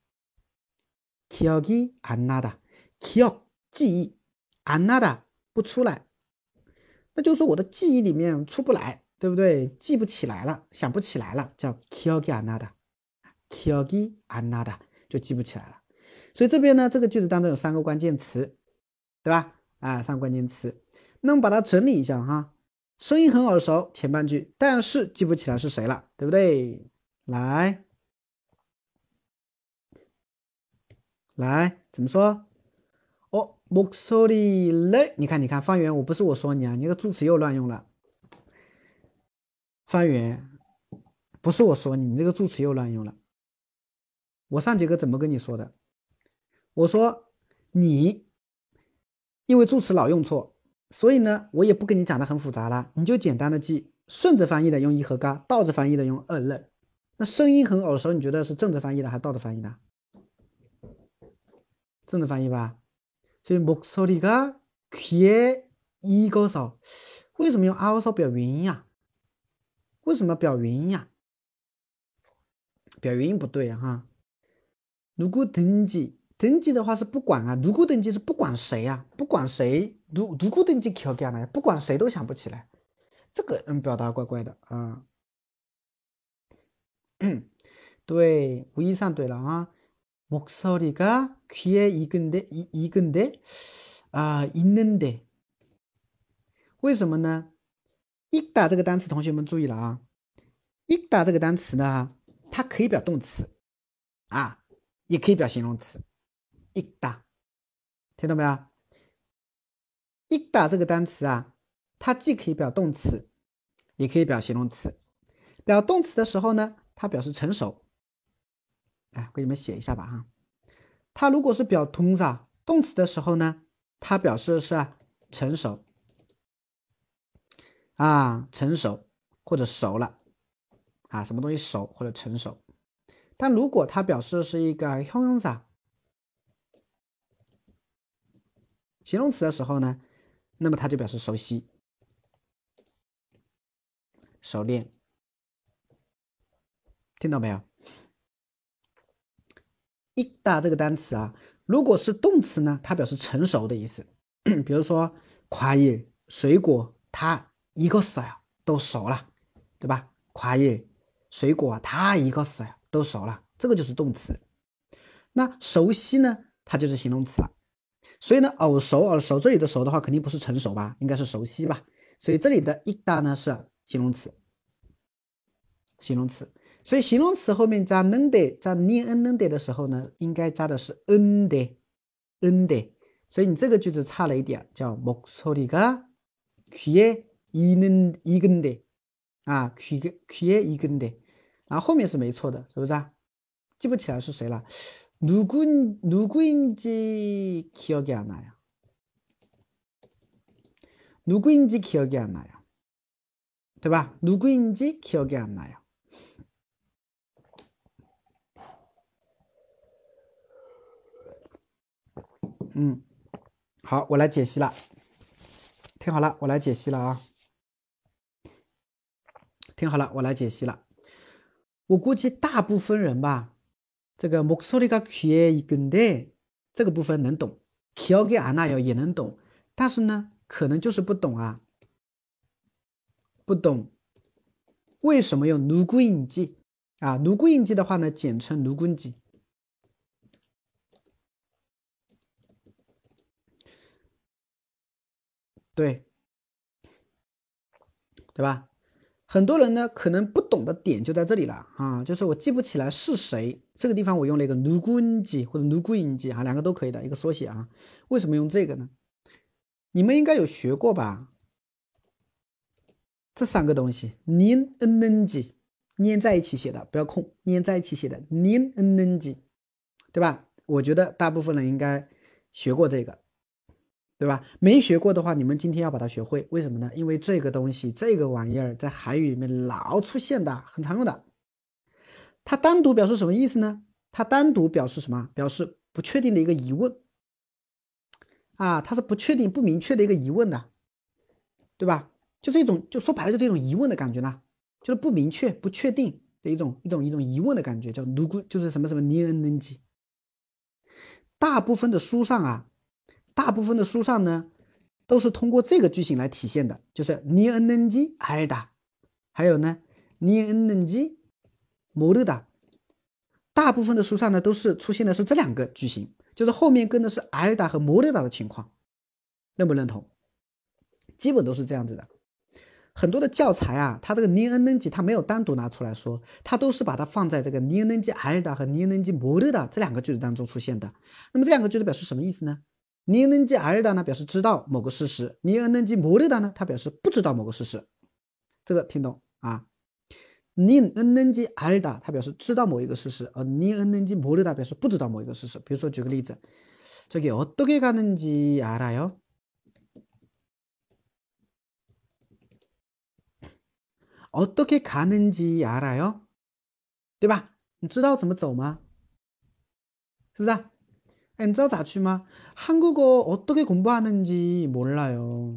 나다。기억이 안 나다。기억记忆안 나다不出来，那就是说我的记忆里面出不来，对不对？记不起来了，想不起来了，叫기억이 안 나다。기억이 안 나다就记不起来了。所以这边呢，这个句子当中有3个关键词，对吧？3个关键词，那我们把它整理一下哈。声音很耳熟，前半句，但是记不起来是谁了，对不对？来，怎么说？목소리를，你看，方圆，我不是我说你啊，你这个助词又乱用了。方圆，不是我说你，你这个助词又乱用了。我上节课怎么跟你说的？我说你因为助词老用错，所以呢，我也不跟你讲的很复杂了，你就简单的记，顺着翻译的用一和嘎，倒着翻译的用二了。那声音很耳熟，你觉得是正着翻译的还是倒着翻译的？正着翻译吧。所以목소리가 귀에 익어서，为什么用아어서表元音呀？为什么表元音呀？表元音不对哈。누구든지的话是不管啊，누구든지是不管谁啊，不管谁，누구든지 기억이 안 나요，不管谁都想不起来，这个表达怪怪的啊。对，无疑上对了啊。목소리가 귀에 익은데 있는데，为什么呢？익다这个单词，同学们注意了啊。익다这个单词呢，它可以表动词啊，也可以表形容词。익다，听到没有？익다这个单词啊，它既可以表动词，也可以表形容词。表动词的时候呢，它表示成熟。给你们写一下吧哈。它如果是表동사动词的时候呢，它表示的是成熟成熟或者熟了什么东西熟或者成熟。但如果它表示的是一个형용사形容词的时候呢，那么它就表示熟悉、熟练。听到没有？익다这个单词如果是动词呢，它表示成熟的意思。比如说과일水果，它익었어요都熟了，对吧？과일水果它익었어요都熟了，这个就是动词。那熟悉呢，它就是形容词了。所以呢，耳熟这里的熟的话，肯定不是成熟吧，应该是熟悉吧。所以这里的익다呢是形容词。所以形容词后面加는데加는데的时候呢，应该加的是은데。所以你这个句子差了一点，叫목소리가 귀에 익은데 귀에 익은데后面是没错的，是不是记不起来是谁了。누구인지 기억이 안 나요. 누구인지 기억이 안 나요. 对吧？ 누구인지 기억이 안 나요. 好，我来解析了。听好了，我来解析了啊。听好了，我来解析了。我估计大部分人吧，这个목소리가 귀에 익은데这个部分能懂，기억이 안 나요也能懂，但是呢，可能就是不懂不懂为什么用누구인지 누구인지的话呢，简称누군지。对吧？很多人呢可能不懂的点就在这里了就是我记不起来是谁，这个地方我用了一个누군지或者누구인지两个都可以的一个缩写为什么用这个呢？你们应该有学过吧？这3个东西닌 은는지粘在一起写的，不要空，粘在一起写的닌 은는지，对吧？我觉得大部分人应该学过这个， 对吧？没学过的话，你们今天要把它学会。为什么呢？因为这个东西，这个玩意儿在韩语里面老出现的，很常用的。它单独表示什么意思呢？它单独表示什么？表示不确定的一个疑问啊，它是不确定、不明确的一个疑问的，对吧？就是一种，就说白了就是一种疑问的感觉呢，就是不明确、不确定的一种疑问的感觉，叫누구，就是什么什么你能记。大部分的书上呢，都是通过这个句型来体现的，就是你能记알다，还有呢你能记모르다。大部分的书上呢，都是出现的是这两个句型，就是后面跟的是알다和모르다的情况，认不认同？基本都是这样子的。很多的教材啊，它这个니能记它没有单独拿出来说，它都是把它放在这个니能记알다和니能记모르다这两个句子当中出现的。那么这两个句子表示什么意思呢？니能记알다呢表示知道某个事实，니能记모르다呢它表示不知道某个事实。这个听懂啊？니能记알다它表示知道某一个事实，而니能记모르다表示不知道某一个事实。比如说举个例子，저기 어떻게 가는지 알아요？ 어떻게 가는지 알아요？ 对吧？你知道怎么走吗？是不是？哎，你知道咋去吗？ 한국어 어떻게 공부하는지 몰라요，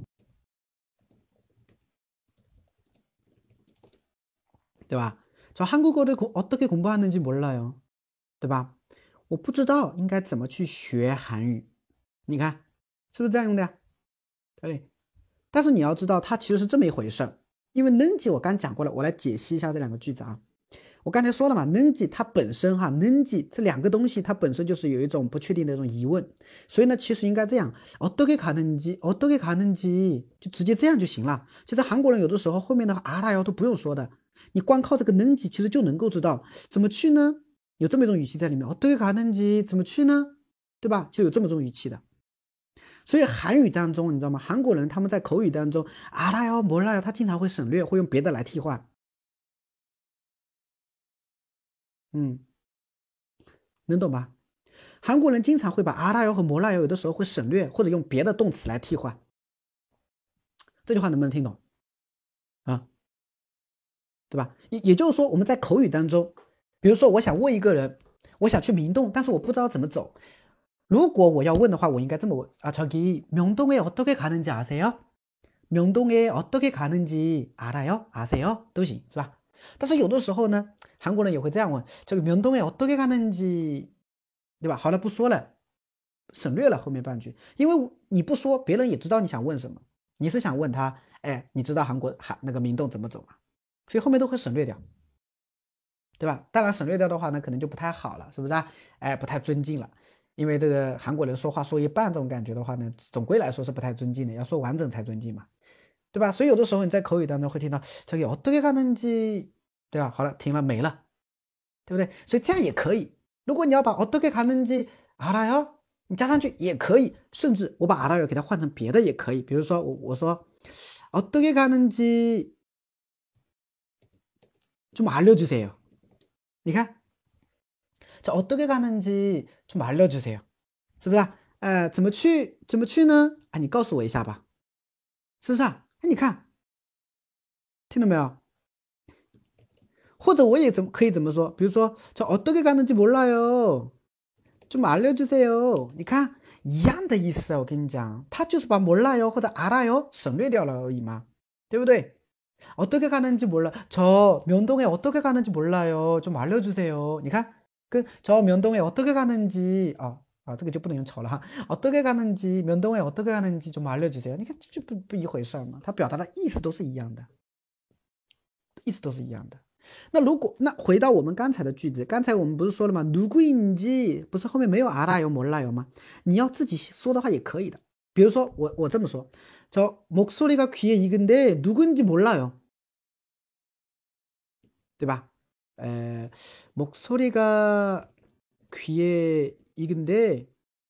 对吧？저 한국어를 어떻게 공부하는지 몰라요， 对吧？我不知道应该怎么去学韩语，你看是不是这样用的呀？对。但是你要知道，它其实是这么一回事，因为能记我刚讲过了，我来解析一下这两个句子啊。我刚才说了嘛，能记它本身哈，能记这两个东西它本身就是有一种不确定的一种疑问，所以呢，其实应该这样，어떻게 가는지 어떻게 가는지就直接这样就行了。其实韩国人有的时候后面的알아요都不用说的，你光靠这个能记其实就能够知道怎么去呢？有这么一种语气在里面，어떻게 가는지怎么去呢？对吧？就有这么种语气的。所以韩语当中，你知道吗？韩国人他们在口语当中，알아요、몰라요，他经常会省略，会用别的来替换。能懂吧？韩国人经常会把알아요和몰라요有的时候会省略，或者用别的动词来替换。这句话能不能听懂啊？对吧？也就是说，我们在口语当中，比如说我想问一个人，我想去明洞，但是我不知道怎么走。如果我要问的话，我应该这么问啊，저기 명동에 어떻게 가는지 아세요？ 명동에 어떻게 가는지 알아요? 아세요? 都行，是吧？但是有的时候呢，韩国人也会这样问，这个명동에 어떻게 가는지， 对吧？好了，不说了，省略了后面半句，因为你不说，别人也知道你想问什么。你是想问他，哎，你知道那个明洞怎么走吗？所以后面都会省略掉，对吧？当然省略掉的话呢，可能就不太好了，是不是啊？哎，不太尊敬了。因为这个韩国人说话说一半这种感觉的话呢，总归来说是不太尊敬的，要说完整才尊敬嘛。对吧？所以有的时候你在口语当中会听到这个어떻게 가는지，对吧？好了，停了没了，对不对？所以这样也可以。如果你要把어떻게 가는지 알아요，你加上去也可以，甚至我把알아요给它换成别的也可以。比如说我说어떻게 가는지 좀 알려주세요。你看，这어떻게 가는지 좀 알려주세요，是不是啊？怎么去呢？啊，你告诉我一下吧，是不是啊？哎，你看，听到没有？或者我也可以怎么说？比如说，저 어떻게 가는지 몰라요， 좀 알려주세요。你看一样的意思啊，我跟你讲，他就是把몰라요或者알아요省略掉了而已嘛，对不对？어떻게 가는지 몰라， 저 명동에 어떻게 가는지 몰라요， 좀 알려주세요。你看，跟저 명동에 어떻게 가는지这个就不能用吵了哈。어떻게 가는지 명동에 어떻게 가는지 좀 알려주세요。你看这就不一回事嘛，它表达的意思都是一样的，意思都是一样的。那回到我们刚才的句子，刚才我们不是说了吗？누구인지不是后面没有알아요 몰라요吗？你要自己说的话也可以的。比如说我这么说，저 목소리가 귀에 익은데 누군지 몰라요， 对吧？목소리가 귀에 익은데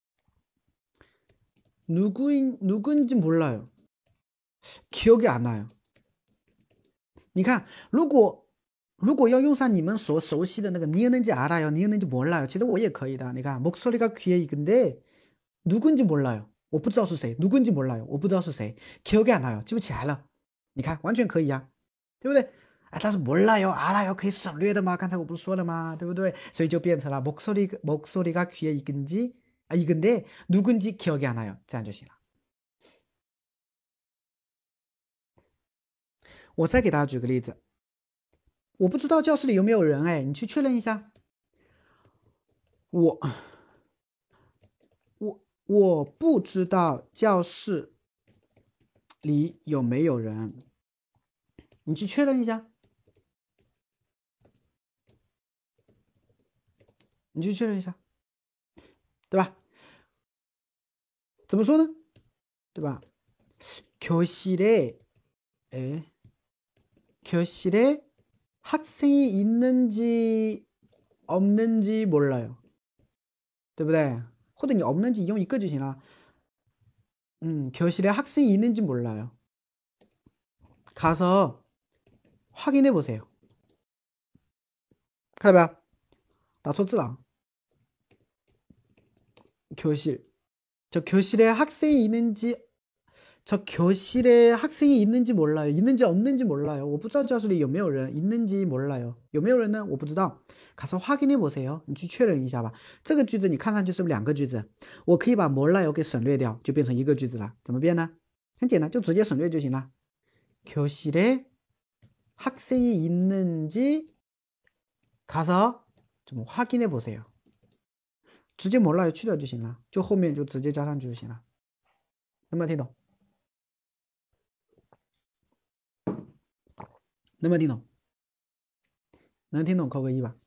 누군지 몰라요， 기억이 안 나요。 你看，如果要用上你们所熟悉的那个니能记알아요，니能记몰라요，其实我也可以的。你看，목소리가 귀에 익은데 누군지 몰라요， 我不知道是谁，누군지 몰라요，我不知道是谁，기억이 안 나요，记不起来了。你看，完全可以呀，对不对？哎，但是몰라요，알아요可以省略的吗？刚才我不是说了吗？对不对？所以就变成了목소리가 귀에 익은데 누군지 기억이 안 나요，这样就行了。我再给大家举个例子，我不知道教室里有没有人，哎，你去确认一下。我不知道教室里有没有人，你去确认一下。你去确认一下，对吧？怎么说呢？对吧？교실에 학생이 있는지 없는지 몰라요，对不对？或者你없는지用一个就行了。교실에 학생이 있는지 몰라요. 가서 확인해 보세요. 看到没有？打错字了。교실. 저 교실에 학생이 있는지 몰라요. 있는지 없는지 몰라요. 我不知道教室里有没有人 있는지 몰라요. 有没有人呢？我不知道。 가서 확인해 보세요. 你去确认一下吧。这个句子你看上去是不是两个句子？我可以把 몰라요 给省略掉，就变成一个句子了。怎么变呢？很简单，就直接省略就行了。 교실에 학생이 있는지 가서 좀 확인해 보세요. 直接 몰라요 去掉就行了，就后面就直接加上去就行了。能不能听懂？能不能听懂？能听懂扣个一吧。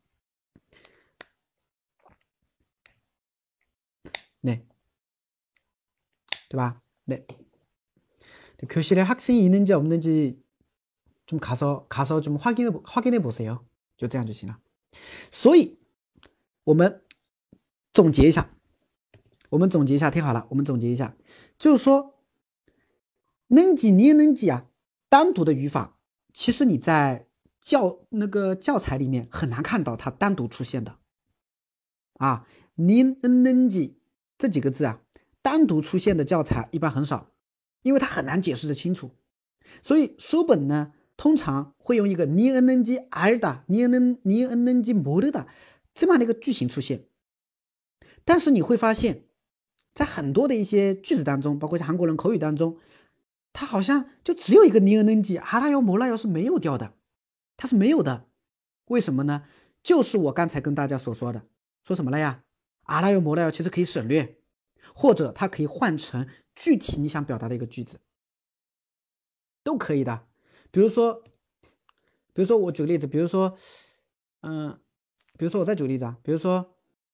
네. 对吧？ 네. 교실에 학생이 있는지 없는지 좀 가서 좀 확인해 보세요. 就这样就行了。所以我们总结一下，听好了，我们总结一下，就是说，能几你也能几啊，单独的语法，其实你在教材里面很难看到它单独出现的啊，你能几这几个字啊，单独出现的教材一般很少，因为它很难解释的清楚，所以书本呢通常会用一个你能几알다，你能几모르다这么样的一个句型出现。但是你会发现，在很多的一些句子当中，包括像韩国人口语当中，它好像就只有一个你能几알아요 몰라요是没有掉的，它是没有的。为什么呢？就是我刚才跟大家所说的，说什么了呀？알아요 몰라요其实可以省略，或者它可以换成具体你想表达的一个句子，都可以的。比如说我举个例子，比如说我再举个例子啊，比如说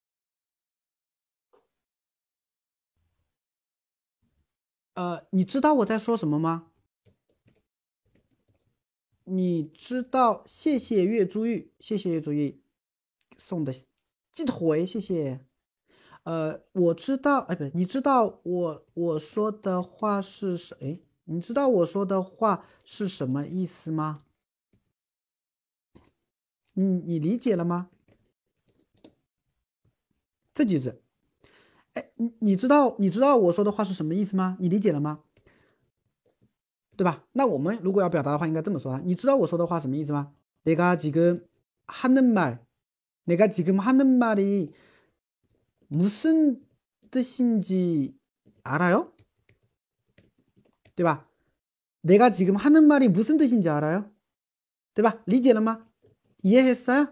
你知道我在说什么吗？你知道，谢谢月珠玉，送的鸡腿，谢谢。我知道，哎，不，你知道我说的话是你知道我说的话是什么意思吗？你理解了吗？这句子，哎，你知道我说的话是什么意思吗？你理解了吗？对吧？那我们如果要表达的话，应该这么说啊。你知道我说的话什么意思吗？내가 지금 하는 말이 무슨 뜻인지 알아요? 对吧？ 내가 지금 하는 말이 무슨 뜻인지 알아요? 对吧？理解了吗？ 이해했어요?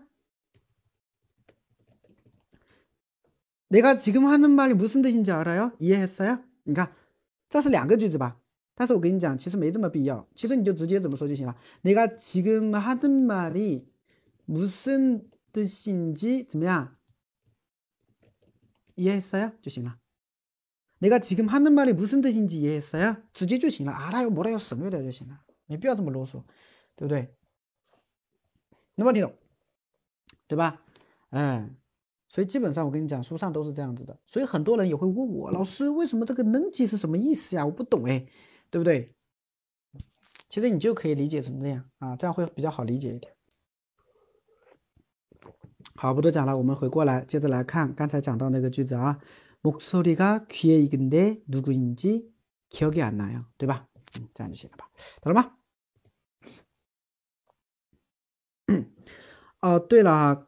내가 지금 하는 말이 무슨 뜻인지 알아요? 이해했어요? 你看，这是两个句子吧？但是我跟你讲，其实没这么必要，其实你就直接怎么说就行了。내가 지금 하는 말이 무슨 뜻인지怎么样？ 이해했어요? 就行了。 내가 지금 하는 말이 무슨 뜻인지 이해했어요? 直接就行了。알아요 뭐라요省略掉就行了，没必要这么啰嗦，对不对？能不能听懂？对吧？所以基本上我跟你讲，书上都是这样子的。所以很多人也会问我，老师为什么这个能几是什么意思呀？我不懂哎，对不对？其实你就可以理解成这样啊，这样会比较好理解一点。好，不多讲了，我们回过来接着来看刚才讲到那个句子啊。 목소리가 귀에 익은데 누구인지 기억이 안 나요. 对吧？这样就行了吧？懂了吗？哦，对了啊，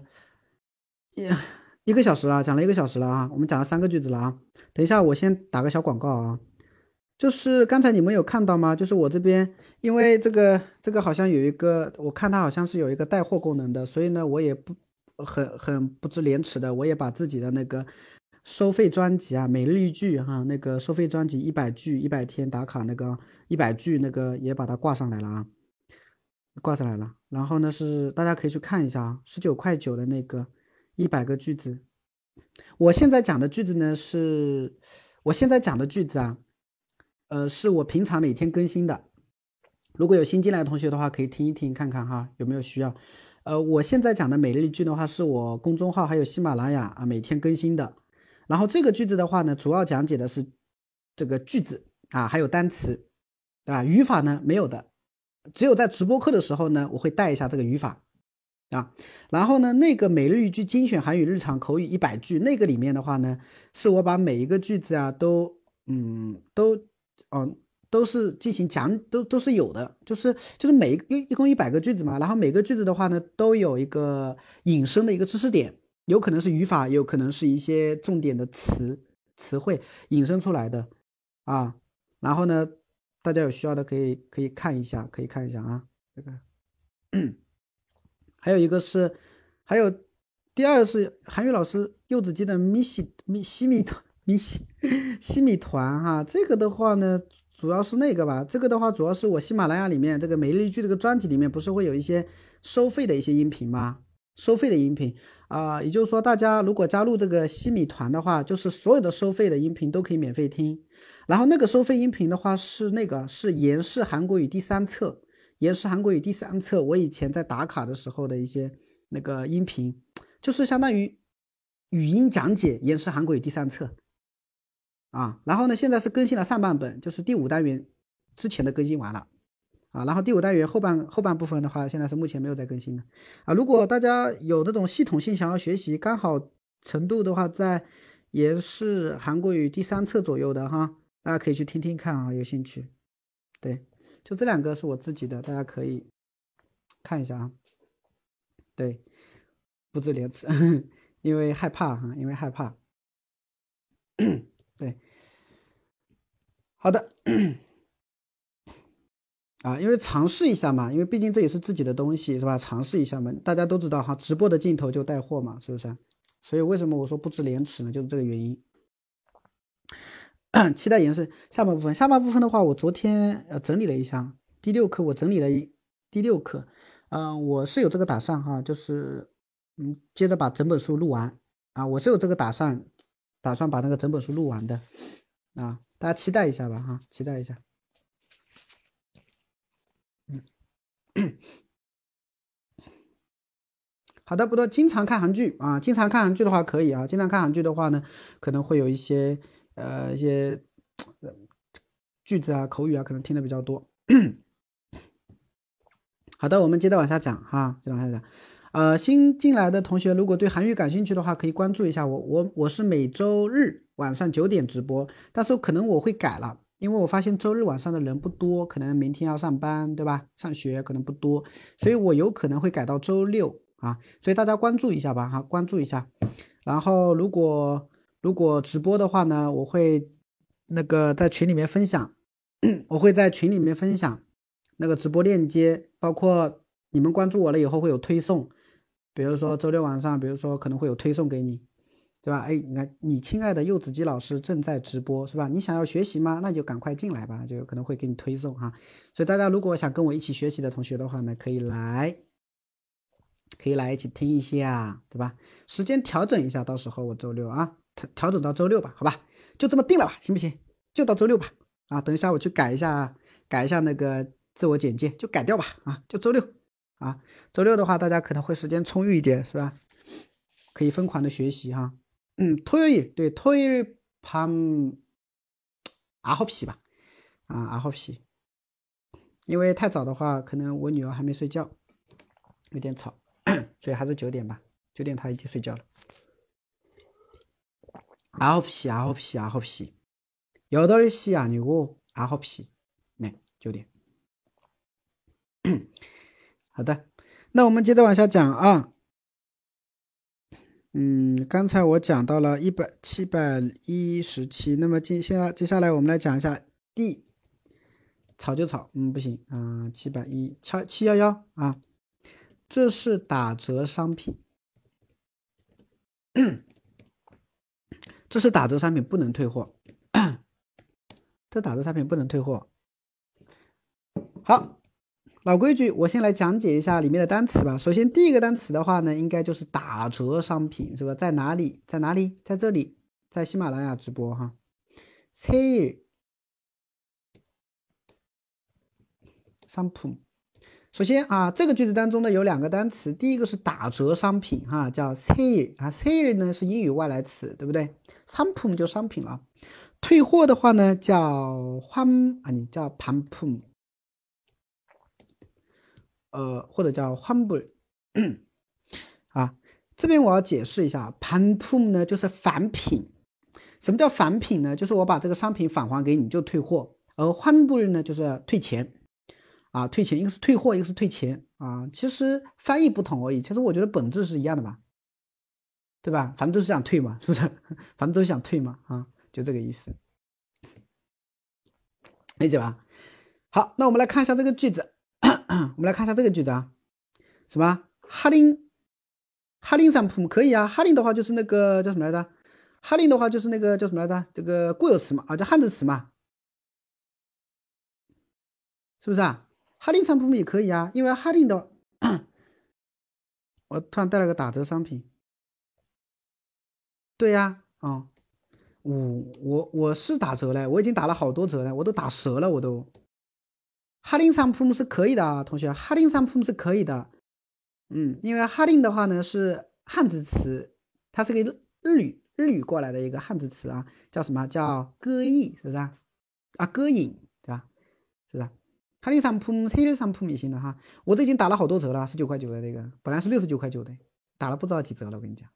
一个小时了，讲了1个小时了啊，我们讲了3个句子了啊。等一下，我先打个小广告啊，就是刚才你们有看到吗？就是我这边，因为这个好像有一个，我看它好像是有一个带货功能的，所以呢，我也不很不知廉耻的，我也把自己的那个收费专辑啊，每日一句哈，那个收费专辑100句100天打卡那个100句那个也把它挂上来了啊。挂上来了，然后呢是大家可以去看一下啊，19.9块的那个100个句子。我现在讲的句子呢是，我现在讲的句子啊，是我平常每天更新的。如果有新进来的同学的话，可以听一听看看哈，有没有需要。我现在讲的每日一句的话，是我公众号还有喜马拉雅啊每天更新的。然后这个句子的话呢，主要讲解的是这个句子啊，还有单词，对吧？语法呢没有的。只有在直播课的时候呢，我会带一下这个语法啊。然后呢，那个每日一句精选韩语日常口语100句，那个里面的话呢，是我把每一个句子啊都是进行讲，都是有的，就是每一共100个句子嘛，然后每个句子的话呢，都有一个引申的一个知识点，有可能是语法，有可能是一些重点的词汇引申出来的啊。然后呢，大家有需要的可以看一下，啊。这个，还有一个是，还有第二是韩语老师柚子鸡的西米团哈，这个的话呢，主要是那个吧，这个的话主要是我喜马拉雅里面这个每日一句这个专辑里面不是会有一些收费的一些音频吗？收费的音频啊，也就是说大家如果加入这个西米团的话，就是所有的收费的音频都可以免费听。然后那个收费音频的话是延世韩国语第3册，我以前在打卡的时候的一些那个音频，就是相当于语音讲解延世韩国语第3册啊。然后呢，现在是更新了上半本，就是第5单元之前的更新完了啊。然后第5单元后半部分的话，现在是目前没有在更新的啊。如果大家有那种系统性想要学习，刚好程度的话在延世韩国语第3册左右的哈。大家可以去听听看啊，有兴趣。对，就这2个是我自己的，大家可以看一下啊。对，不知廉耻，因为害怕哈，对，好的啊，因为尝试一下嘛，因为毕竟这也是自己的东西，是吧？尝试一下嘛，大家都知道哈，直播的镜头就带货嘛，是不是？所以为什么我说不知廉耻呢？就是这个原因。期待延伸下半部分。下半部分的话，我昨天整理了一下第6课，我整理了第6课。我是有这个打算哈，就是接着把整本书录完啊，我是有这个打算把那个整本书录完的啊，大家期待一下吧哈，期待一下。好的，不多，经常看韩剧啊，经常看韩剧的话可以啊，经常看韩剧的话呢，可能会有一些句子啊、口语啊，可能听的比较多。好的，我们接着往下讲哈，接着往下讲。新进来的同学如果对韩语感兴趣的话，可以关注一下我。我是每周日晚上9点直播，但是可能我会改了，因为我发现周日晚上的人不多，可能明天要上班，对吧？上学可能不多，所以我有可能会改到周6啊，所以大家关注一下吧哈，关注一下。然后如果直播的话呢，我会那个在群里面分享，那个直播链接，包括你们关注我了以后会有推送，比如说周6晚上，比如说可能会有推送给你，对吧？哎，你看你亲爱的柚子鸡老师正在直播，是吧？你想要学习吗？那就赶快进来吧，就可能会给你推送哈。所以大家如果想跟我一起学习的同学的话呢，可以来一起听一下，对吧？时间调整一下，到时候我周6啊，调整到周6吧，好吧？就这么定了吧，行不行？就到周6吧。啊，等一下我去改一下那个自我简介，就改掉吧。啊，就周6啊，周6的话大家可能会时间充裕一点，是吧？可以疯狂的学习哈。토요일对토요일 밤 9시吧。啊，9시。因为太早的话，可能我女儿还没睡觉，有点吵。所以还是9点吧，9点他已经睡觉了。 9시, 9시, 9시. 8시 아니고 9시. 네, 9点。好的，那我们接着往下讲啊。刚才我讲到了717，那么接下来我们来讲一下 D， 草就草，不行，711啊，这是打折商品，这是打折商品，不能退货，这打折商品不能退货。好，老规矩，我先来讲解一下里面的单词吧。首先第一个单词的话呢，应该就是打折商品，是吧？在哪里？在哪里？在这里，在喜马拉雅直播哈。sale商品。首先啊，这个句子当中呢有两个单词，第一个是打折商品哈，叫 sale 啊 ，sale 呢是英语外来词，对不对？商品就商品了。退货的话呢叫叫반품，或者叫환불啊。这边我要解释一下，반품呢就是返品。什么叫返品呢？就是我把这个商品返还给你就退货，而환불呢就是退钱。啊，退钱，一个是退货，一个是退钱啊，其实翻译不同而已，其实我觉得本质是一样的吧，对吧？反正都是想退嘛，是不是？反正都是想退嘛，啊，就这个意思，理解吧？好，那我们来看一下这个句子，我们来看一下这个句子啊，什么哈林상품可以啊，哈林的话就是那个叫什么来着？哈林的话就是那个叫什么来着？这个固有词嘛，啊，叫汉字词嘛，是不是啊？哈林상품也可以啊，因为哈林的，我突然带了个打折商品，对呀，啊，我是打折了，我已经打了好多折了，我都打折了，我都。哈林상품是可以的啊，同学，哈林상품是可以的，因为哈林的话呢是汉字词，它是个日语过来的一个汉字词啊，叫什么叫歌艺，是不是啊？啊，歌影，对吧？是不是？哈林상품、세일 상품也行的哈，我这已经打了好多折了，19.9的那个，本来是69.9的，打了不知道几折了，我跟你讲。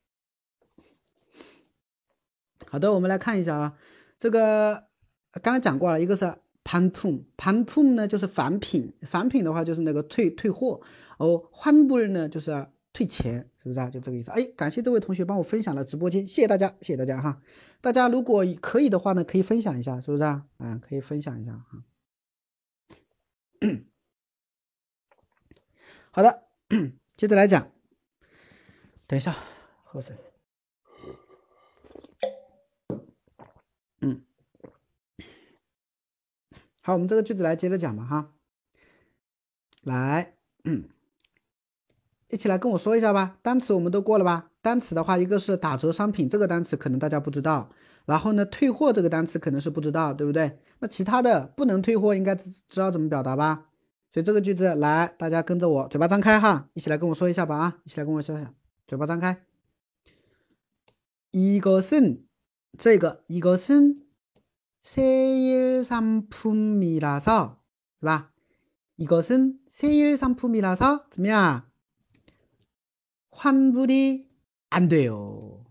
好的，我们来看一下啊，这个刚才讲过了，一个是반품呢就是返品，返品的话就是那个退货，환불呢就是退钱，是不是啊？就这个意思。哎，感谢这位同学帮我分享了直播间，谢谢大家，谢谢大家哈。大家如果可以的话呢，可以分享一下，是不是啊？可以分享一下哈。好的，接着来讲。等一下，喝水。好，我们这个句子来接着讲吧哈。来，一起来跟我说一下吧。单词我们都过了吧？单词的话，一个是打折商品这个单词可能大家不知道，然后呢，退货这个单词可能是不知道，对不对？那其他的不能退货应该知道怎么表达吧？所以这个句子来，大家跟着我，嘴巴张开哈，一起来跟我说一下吧啊！一起来跟我说一下，嘴巴张开。이것은这个이것은 세일 상품이라서， 对吧？이것은 세일 상품이라서 怎么样？환불이 안 돼요，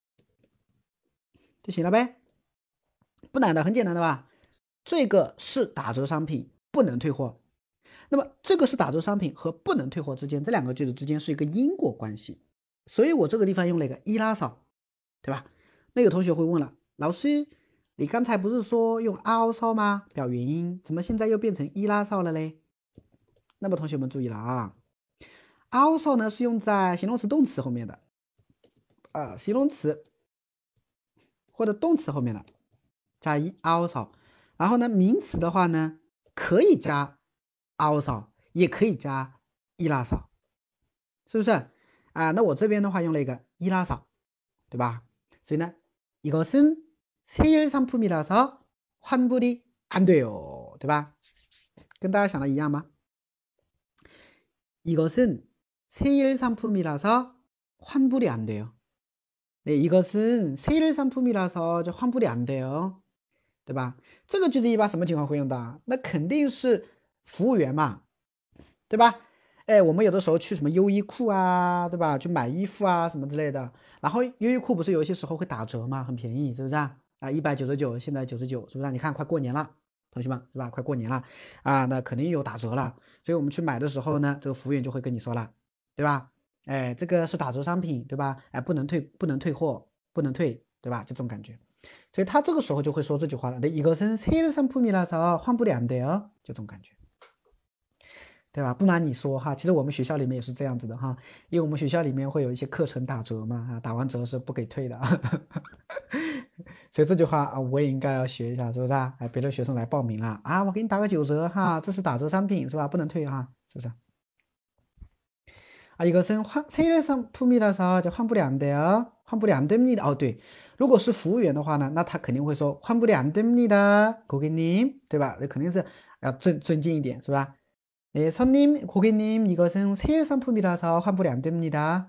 就行了呗，不难的，很简单的吧？这个是打折商品，不能退货。那么这个是打折商品和不能退货之间，这两个句子之间是一个因果关系，所以我这个地方用了一个伊拉嫂，对吧？那个同学会问了，老师，你刚才不是说用凹骚吗？表原因，怎么现在又变成伊拉嫂了嘞？那么同学们注意了啊，凹骚呢是用在形容词、动词后面的，形容词或者动词后面的加凹骚，然后呢，名词的话呢可以加凹骚，也可以加伊拉嫂，是不是啊？那我这边的话用了一个伊拉嫂，对吧？所以呢，이것은 세일 상품이라서 환불이 안 돼요，对吧？跟大家想的一样吗？이것은 세일 상품이라서 환불이 안 돼요。 네， 이것은 세일 상품이라서就환불이 안 돼요， 对吧？这个句子一般什么情况会用到？那肯定是服务员嘛，对吧？ 哎，我们有的时候去什么优衣库啊，对吧？去买衣服啊什么之类的，然后优衣库不是有一些时候会打折嘛，很便宜，是不是啊？啊，199，现在99，是不是啊？你看快过年了，同学们是吧？快过年了啊，那肯定有打折了，所以我们去买的时候呢，这个服务员就会跟你说了，对吧？哎，这个是打折商品，对吧？哎，不能退，不能退货，不能退，对吧？就这种感觉，所以他这个时候就会说这句话了，이것은세일상품이라서환불이 안 돼요，就这种感觉。对吧？不瞒你说哈，其实我们学校里面也是这样子的哈，因为我们学校里面会有一些课程打折嘛，打完折是不给退的，所以这句话啊，我也应该要学一下，是不是啊？哎，别的学生来报名了啊，我给你打个9折哈，这是打折商品是吧？不能退哈，是不是？啊，一个是세일 상품이라서就환불이 안 돼요，환불이 안 됩니다。哦，对，如果是服务员的话呢，那他肯定会说환불이 안 됩니다， 고객님，对吧？那肯定是要尊敬一点，是吧？네, 손님, 고객님, 이것은 세일 상품이라서 환불이 안 됩니다.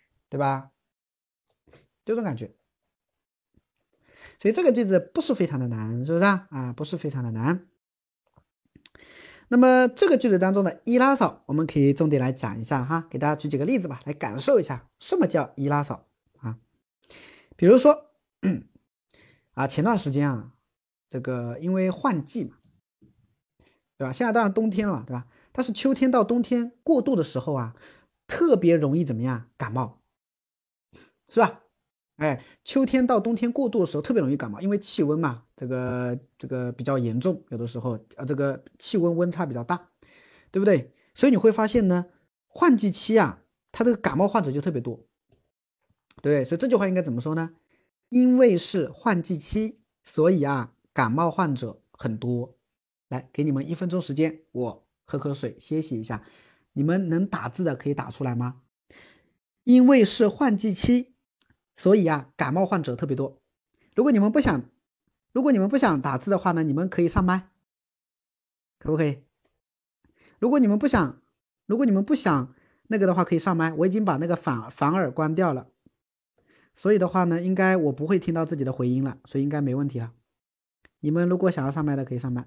对吧？这个句子当中的伊拉嫂，我们可以重点来讲一下哈，给大家举几个例子吧，来感受一下什么叫伊拉嫂啊。比如说，啊，前段时间啊，这个因为换季嘛，对吧？现在当然冬天了嘛，对吧？但是秋天到冬天过渡的时候啊，特别容易怎么样感冒，是吧？哎，秋天到冬天过渡的时候特别容易感冒，因为气温嘛，这个比较严重，有的时候这个气温温差比较大，对不对？所以你会发现呢，换季期啊，它这个感冒患者就特别多，对，所以这句话应该怎么说呢？因为是换季期，所以啊，感冒患者很多。来，给你们1分钟时间，我喝口水歇息一下。你们能打字的可以打出来吗？因为是换季期，所以啊，感冒患者特别多。如果你们不想，如果你们不想打字的话呢，你们可以上麦，可不可以？如果你们不想，如果你们不想那个的话，可以上麦。我已经把那个反耳关掉了，所以的话呢，应该我不会听到自己的回音了，所以应该没问题了。你们如果想要上麦的，可以上麦。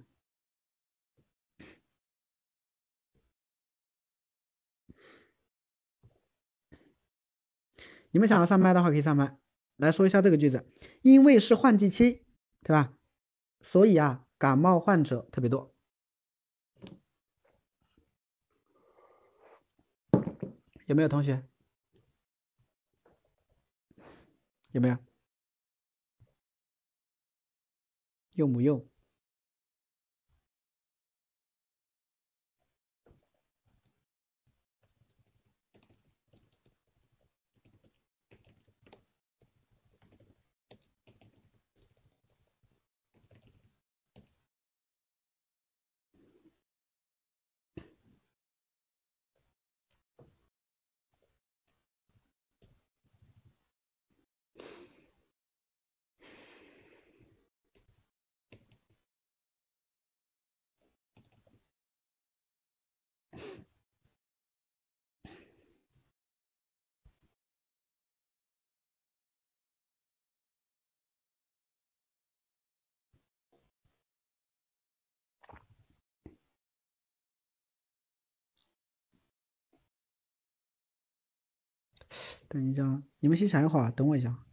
你们想要上麦的话，可以上麦。来说一下这个句子，因为是换季期，对吧？所以啊，感冒患者特别多。有没有同学？有没有？用不用？等一下，你们先想一会儿，等我一下。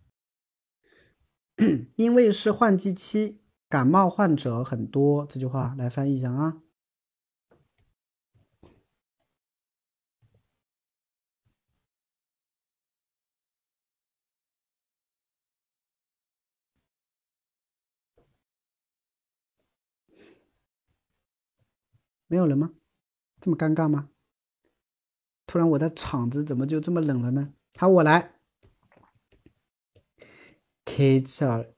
因为是换季期，感冒患者很多，这句话来翻译一下啊。没有人吗？这么尴尬吗？突然我的场子怎么就这么冷了呢？好，我来。계절,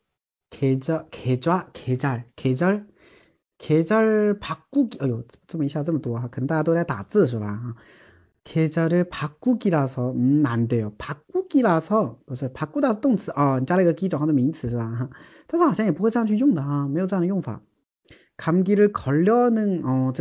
계절 바꾸기. 哎呦，这么一下这么多哈，可能大家都在打字是吧？哈， 계절을 바꾸기라서 안 돼요. 바꾸기라서 不是 바꾸다 动词啊，你加了一个 기转换的名词是吧？哈，但是好像也不会这样去用的哈，没有这样的用法。감기를 걸려는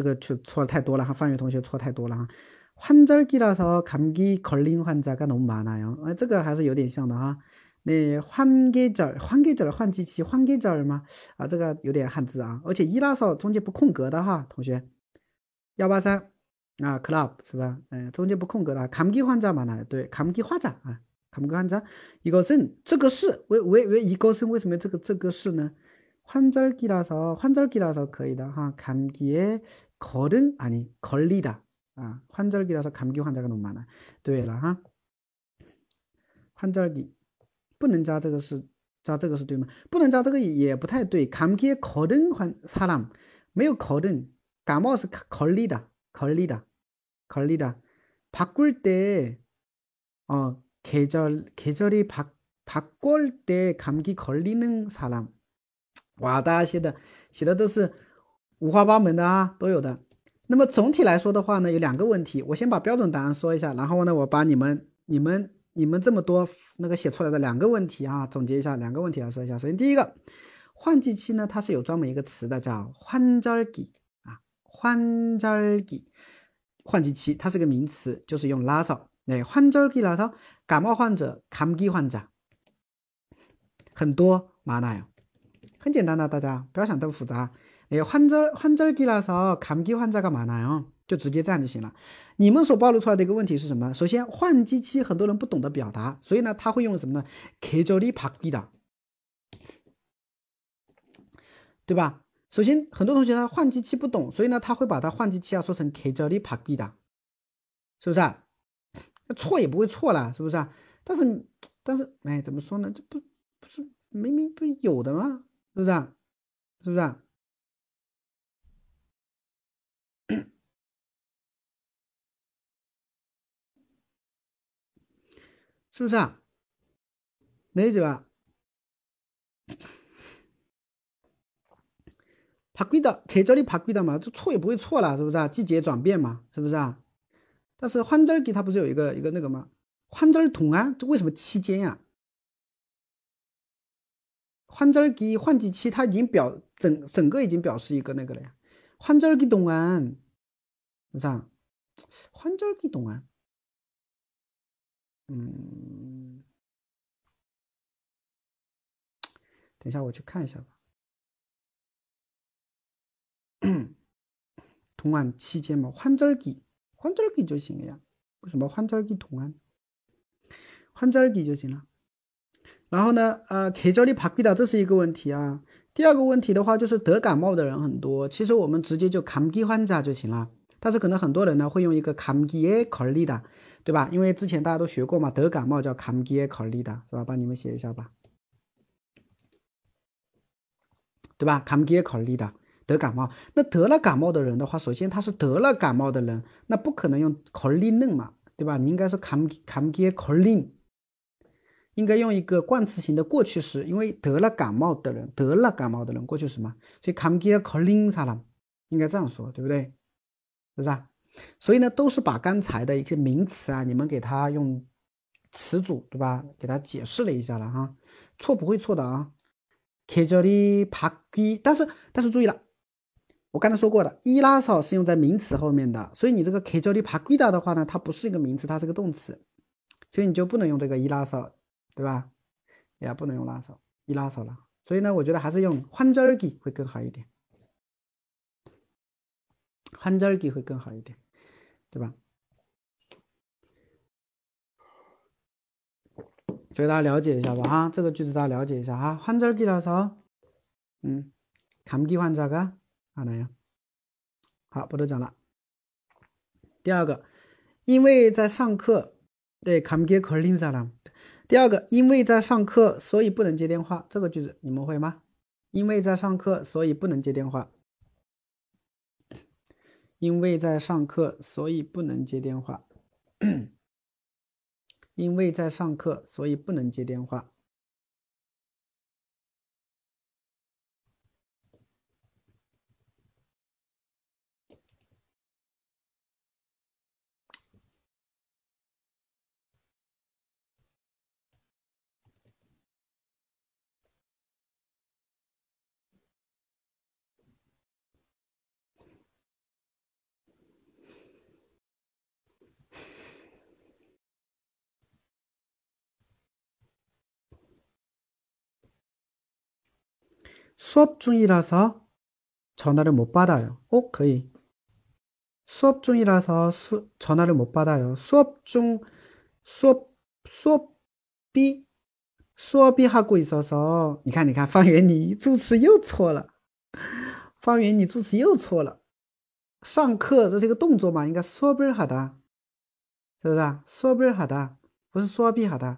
这个错了太多了哈，范宇同学错太多了哈。 환절기라서 감기 걸린 환자가 너무 많아요. 这个还是有点像的哈。那换季期换季절吗？啊，这个有点汉字啊，而且一拉扫中间不空格的哈，同学。183 啊 club 是吧？中间不空格的。감기 환자 많아요. 对， 감기 환자啊， 감기 환자. 이것은 这个是왜 이것은 为什么这个是呢？ 환절기라서 可以的 哈. 감기에 걸은 아니 걸리다. 아, 환절기라서 감기 환자가 너무 많아. 对了哈. 환절기 不能加这个是对吗？不能加这个也不太对。감기에 걸은 사람 没有 걸은 感冒是 걸리다. 바꿀 때 계절이 바꿀 때 감기 걸리는 사람. 哇，大家写的都是五花八门的啊，都有的。那么总体来说的话呢，有两个问题，我先把标准答案说一下，然后呢，我把你们这么多那个写出来的两个问题啊，总结一下两个问题来说一下。首先第一个，换季期呢，它是有专门一个词的，叫환절기啊，환절기，换季期，它是个名词，就是用라서，환절기라서感冒患者감기患者很多많아요。很简单的，大家不要想这么复杂。환절기라서 감기 환자가 많아요，就直接这样就行了。你们所暴露出来的一个问题是什么？首先，换季期很多人不懂得表达，所以呢，他会用什么呢？계절이 바뀌다，对吧？首先，很多同学他换季期不懂，所以呢，他会把它换季期说成계절이 바뀌다，是不是啊？错也不会错了，是不是啊？但是，哎，怎么说呢？这不是明明不是有的吗？是不是啊？是不是啊？是不是啊？理解吧？바뀌다 계절이 바뀌다嘛，这错也不会错了，是不是啊？季节转变嘛，是不是啊？但是환절기它不是有一个那个吗？환절동안这为什么期间呀？환절기换季期它已经整个已经表示一个那个了呀。환절기 동안是不是啊？환절기 동안等一下我去看一下吧。동안期间嘛，환절기就行了呀。为什么환절기 동안 환절기就行了？然后呢，계절이 바뀌다这是一个问题啊。第二个问题的话，就是得感冒的人很多，其实我们直接就감기 환자就行了。但是可能很多人呢会用一个감기에 걸리다，对吧？因为之前大家都学过嘛，得感冒叫감기에 걸리다，是吧？帮你们写一下吧，对吧？감기에 걸리다，得感冒。那得了感冒的人的话，首先他是得了感冒的人，那不可能用걸리는嘛，对吧？你应该说감기에 걸린。应该用一个冠词型的过去时，因为得了感冒的人过去时嘛，所以감기에 걸린 사람应该这样说，对不对？是不是啊？所以呢，都是把刚才的一些名词啊，你们给它用词组，对吧？给它解释了一下了哈，错不会错的啊。계절이 바뀌，但是注意了，我刚才说过的，이라서是用在名词后面的，所以你这个계절이 바뀌다的话呢，它不是一个名词，它是个动词，所以你就不能用这个이라서，对吧？也不能用라서，이라서了。所以呢，我觉得还是用환절기会更好一点，환절기会更好一点，对吧？所以大家了解一下吧哈，这个句子大家了解一下哈。환절기라서 감기 환자가 많아요。好，不多讲了。第二个，因为在上课，对감기에 걸린 사람。第二个，因为在上课，所以不能接电话。这个句子你们会吗？因为在上课，所以不能接电话。因为在上课，所以不能接电话。因为在上课，所以不能接电话。수업 중이라서 전화를 못 받아요. 可以 수업 중이라서 전화를 못 받아요. 수업이 수업이 하고 있어서 你看方圆你助词又错了，方圆你助词又错了。上课这是一个动作嘛，应该수업을 하다，是不是啊？수업을 하다不是수업이 하다，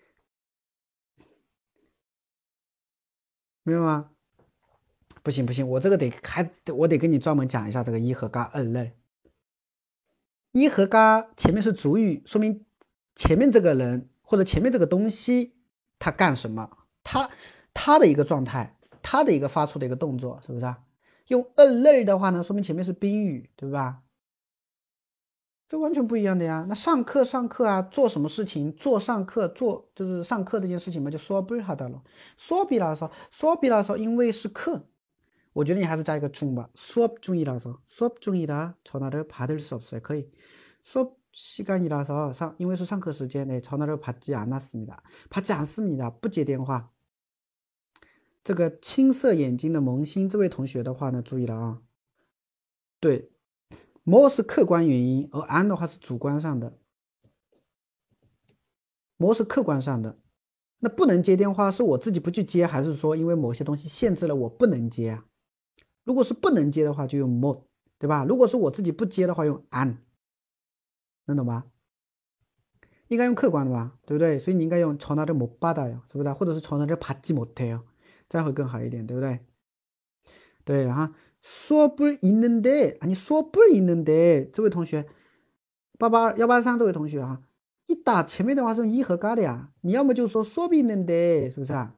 明白吗？不行不行，我这个我得跟你专门讲一下这个一和嘎二类。一和嘎前面是主语，说明前面这个人或者前面这个东西他干什么，他的一个状态，他的一个发出的一个动作，是不是啊？用二类的话呢，说明前面是宾语，对吧？这完全不一样的呀。那上课啊，做什么事情？做上课就是上课这件事情嘛，就说不是他的了。说比拉说，因为是课，我觉得你还是加一个중吧。수업 중이라서 수업 중이라 전화를 받을 수 없어요. 可以。수업 시간이라서因为是上课时间네 전화를 받지 않았습니다. 받지 않습니다. 不接电话。这个青色眼睛的萌新这位同学的话呢，注意了啊。对。more 是客观原因，而 an 的话是主观上的。more 是客观上的，那不能接电话是我自己不去接，还是说因为某些东西限制了我不能接啊？如果是不能接的话，就用 more， 对吧？如果是我自己不接的话，用 an， 能懂吗？应该用客观的吧，对不对？所以你应该用전화를 못 받아요，是不是？或者是전화를 받지 못해요，这样会更好一点，对不对？对啊，수업을 있는데 아니 수업을 있는데这位同学18183这位同学啊，一打前面的话是用一和嘎的呀，你要么就说수업이 있는데是不是啊？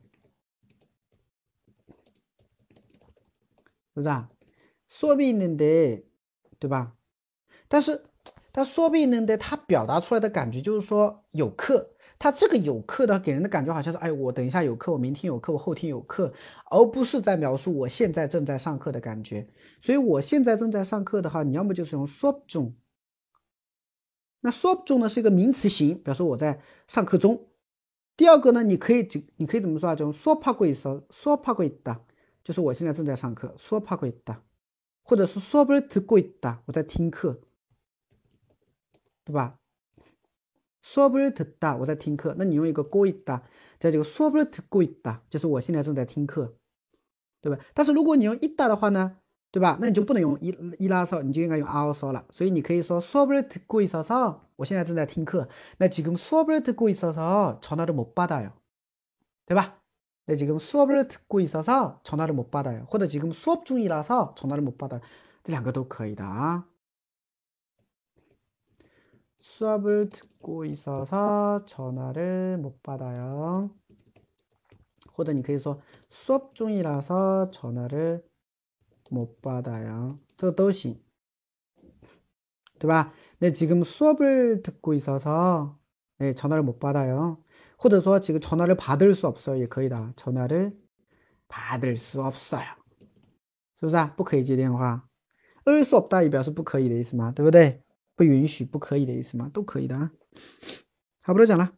是不是啊？수업이 있는데对吧？但수업이 있는데它表达出来的感觉就是说有课。它这个有课的给人的感觉好像是，哎，我等一下有课，我明天有课，我后天有课，而不是在描述我现在正在上课的感觉。所以我现在正在上课的话，你要么就是用수업 중。那수업 중呢是一个名词型，表示我在上课中。第二个呢，你可以怎么说啊？就수업하고 있다，수업하고 있다，就是我现在正在上课，수업하고 있다，或者是수업을 듣고 있다，我在听课，对吧？수업을 듣다，我在听课。那你用一个고 있다，在这个수업을 듣고 있다，就是我现在正在听课，对吧？但是如果你用있다的话呢，对吧？那你就不能用이라서，你就应该用아어서了。所以你可以说수업을 듣고 있어서，我现在正在听课。那지금 수업을 듣고 있어서 전화를 못 받아요，对吧？那지금 수업을 듣고 있어서 전화를 못 받아요，或者지금 수업 중이라서 전화를 못 받아요，这两个都可以的啊。수업을 듣고 있어서 전화를 못 받아요. 或者你可以说 수업 중이라서 전화를 못 받아요. 这个都行，对吧？那지금 수업을 듣고 있어서 네, 전화를 못 받아요. 或者说 지금 전화를 받을 수 없어요. 也可以的. 전화를 받을 수 없어요. 是不是啊？不可以接电话。을수 없다也表示不可以的意思嘛，对不对？不允许、不可以的意思嘛，都可以的啊。好，不多讲了。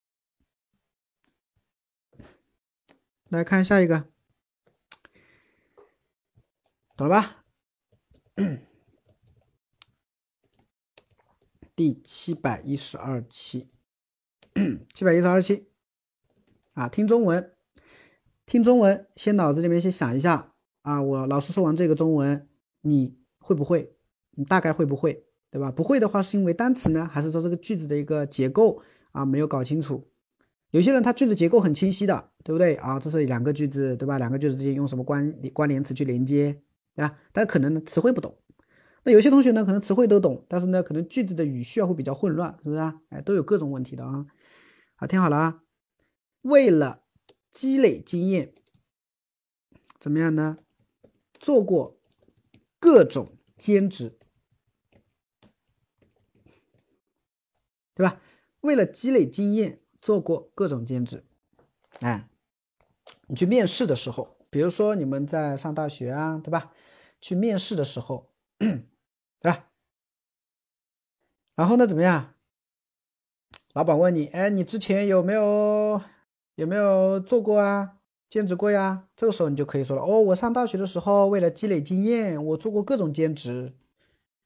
来看下一个，懂了吧？第712期，712期啊，听中文，先脑子里面先想一下啊，我老师说完这个中文，你会不会？你大概会不会？对吧？不会的话，是因为单词呢，还是说这个句子的一个结构啊没有搞清楚？有些人他句子结构很清晰的，对不对啊？这是两个句子，对吧？两个句子之间用什么关联词去连接，对吧？但可能呢词汇不懂。那有些同学呢可能词汇都懂，但是呢可能句子的语序会比较混乱，是不是啊？哎，都有各种问题的啊。好，听好了啊。为了积累经验，怎么样呢？做过各种兼职，对吧？为了积累经验，做过各种兼职。哎，你去面试的时候，比如说你们在上大学啊，对吧？去面试的时候，对吧？然后呢，怎么样？老板问你，哎，你之前有没有做过啊？兼职过呀？这个时候你就可以说了，哦，我上大学的时候为了积累经验，我做过各种兼职。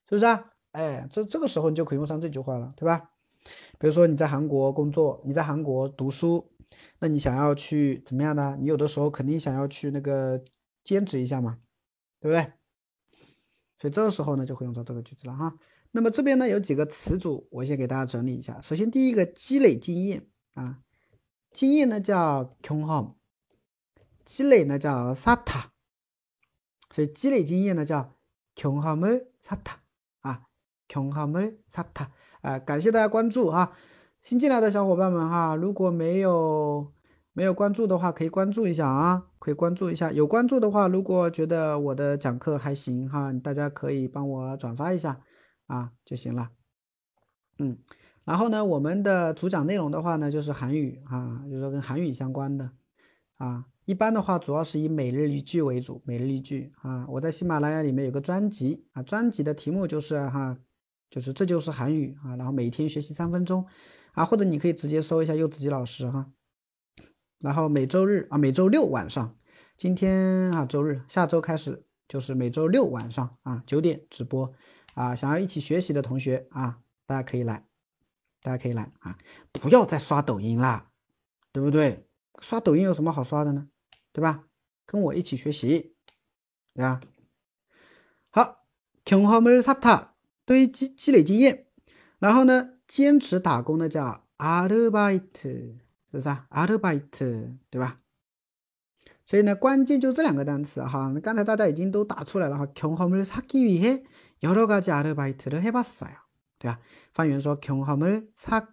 是不是啊？哎，这个时候你就可以用上这句话了，对吧？比如说你在韩国工作，你在韩国读书，那你想要去怎么样呢？你有的时候肯定想要去那个兼职一下嘛，对不对？所以这个时候呢，就会用到这个句子了哈。那么这边呢有几个词组，我先给大家整理一下。首先第一个积累经验啊，经验呢叫경험，积累呢叫쌓다，所以积累经验呢叫경험을 쌓다啊，경험을 쌓다啊。感谢大家关注哈，新进来的小伙伴们哈，如果没有关注的话，可以关注一下啊，可以关注一下。有关注的话，如果觉得我的讲课还行哈，大家可以帮我转发一下啊就行了。然后呢，我们的主讲内容的话呢，就是韩语啊，就是说跟韩语相关的啊。一般的话，主要是以每日一句为主，每日一句啊。我在喜马拉雅里面有个专辑啊，专辑的题目就是就是这就是韩语啊，然后每天学习3分钟啊，或者你可以直接搜一下柚子鸡老师哈。然后每周六晚上，今天周日，下周开始就是每周六晚上9点直播啊。想要一起学习的同学啊，大家可以来。啊，不要再刷抖音啦，对不对？刷抖音有什么好刷的呢？对吧？跟我一起学习，对吧？好，경험을 쌓다，堆积积累经验。然后呢，兼职打工呢叫아르바이트，是不是啊？아르바이트，对吧？所以呢，关键就这两个单词哈。刚才大家已经都打出来了哈。경험을 쌓기 위해 여러 가지 아르바이트를 해봤어요，对吧？翻译员说경험을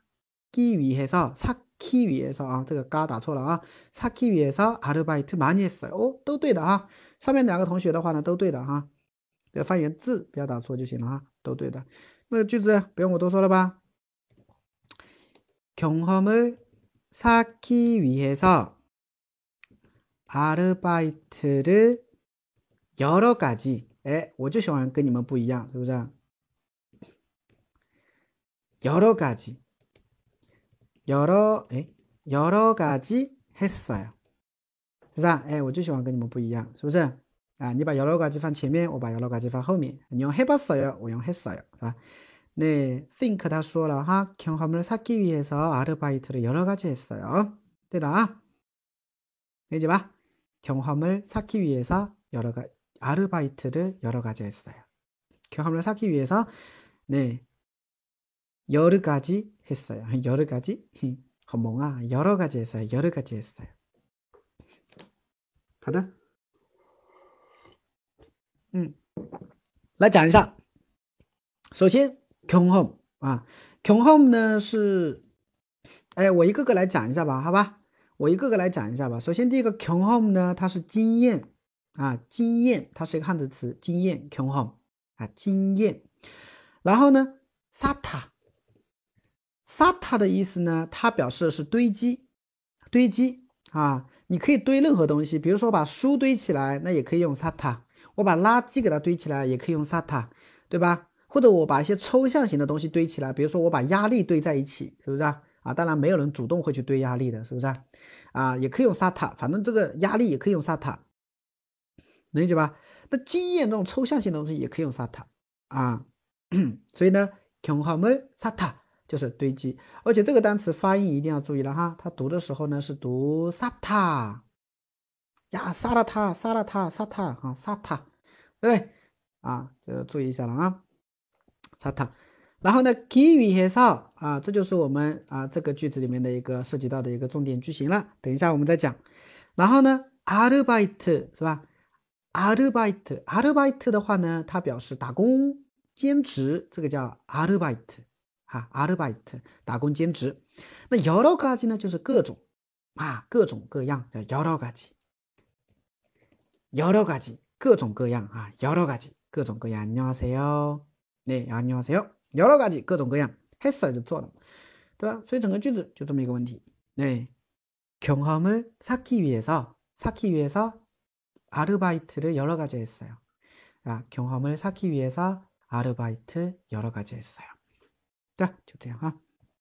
쌓기 위해서 쌓기 위해서啊，这个嘎打错了啊。쌓기 위해서 아르바이트 많이 했어요。哦，都对的啊。上面两个同学的话呢，都对的哈。这个翻译员字不要打错就行了哈，都对的。那个句子不用我多说了吧？경험을 쌓기 위해서 아르바이트를 여러 가지，哎，我就喜欢跟你们不一样，是不是？여러 가지， 여러 가지 했어요，是不是？哎，我就喜欢跟你们不一样，是不是？啊，你把여러 가지放前面，我把여러 가지放后面。你用해봤어요，我用했어요，是吧？那 think 他说了哈，경험을 쌓기 위해서 아르바이트를 여러 가지 했어요，对的啊，理解吧？ 경험을 쌓기 위해서 아르바이트를 여러 가지 했어요. 경험을 쌓기 위해서 네 여러 가지 했어요. 여러 가지 멍아 여러 가지 했어요. 여러 가지 했어요. 好的，来讲一下。首先경험啊，경험呢是，哎，我一个个来讲一下吧，好吧？我一个个来讲一下吧。首先第一个경험呢，它是经验啊，经验，它是一个汉字词，经验경험啊，经验。然后呢，쌓다的意思呢，它表示的是堆积，堆积啊，你可以堆任何东西，比如说把书堆起来，那也可以用쌓다。我把垃圾给它堆起来，也可以用쌓다，对吧？或者我把一些抽象型的东西堆起来，比如说我把压力堆在一起，是不是啊？当然没有人主动会去堆压力的，是不是啊？也可以用쌓다，反正这个压力也可以用쌓다，能理解吧？那经验这种抽象性的东西也可以用쌓다啊。所以呢，경험을 쌓다就是堆积，而且这个单词发音一定要注意了哈，它读的时候呢是读쌓다呀，쌓다啊，쌓다，对不对啊？就注意一下了啊。쌓다，然后呢기위해서啊，这就是我们这个句子里面的一个涉及到的一个重点句型了。等一下我们再讲。然后呢아르바이트是吧？아르바이트的话呢，它表示打工、兼职，这个叫아르바이트啊，아르바이트打工兼职。那여러 가지呢，就是各种各种各样叫여러 가지，各种各样啊，여러 가지各种各样。안녕하세요，네 안녕하세요，여러 가지各种各样，했어요就做了，对吧？所以整个句子就这么一个问题。네 경험을 쌓기 위해서 아르바이트를 여러 가지 했어요. 경험을 쌓기 위해서 아르바이트 여러 가지 했어요. 就这样哈。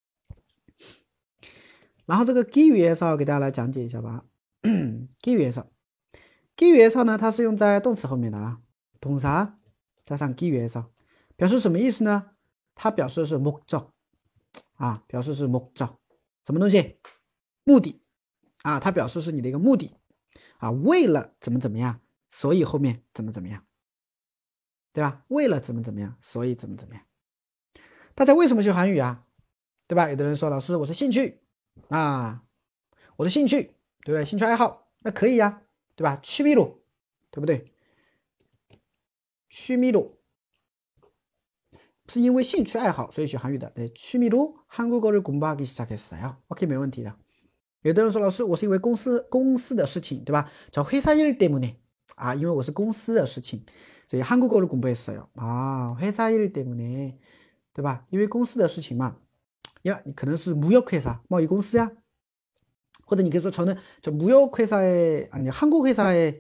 然后这个基위해서给大家来讲解一下吧。基위해서呢，它是用在动词后面的啊，동사加上基위해서。 表示什么意思呢？它表示是목적啊，表示是목적，什么东西？目的啊，它表示是你的一个目的啊，为了怎么怎么样，所以后面怎么怎么样，对吧？为了怎么怎么样，所以怎么怎么样。大家为什么学韩语啊？对吧？有的人说老师，我是兴趣啊，我的兴趣，对不对？兴趣爱好，那可以呀，对吧？취미로，对不对？취미로是因为兴趣爱好所以学韩语的，对，취미로 한국어를 공부하기 시작했어요。OK， 没问题的。有的人说老师，我是因为公司的事情，对吧？叫회사 일 때문에啊，因为我是公司的事情，所以한국어를 공부했어요。啊，회사 일 때문에，对吧？因为公司的事情嘛，呀，你可能是무역회사贸易公司呀，或者你可以说저는 무역회사에 아니 한국회사에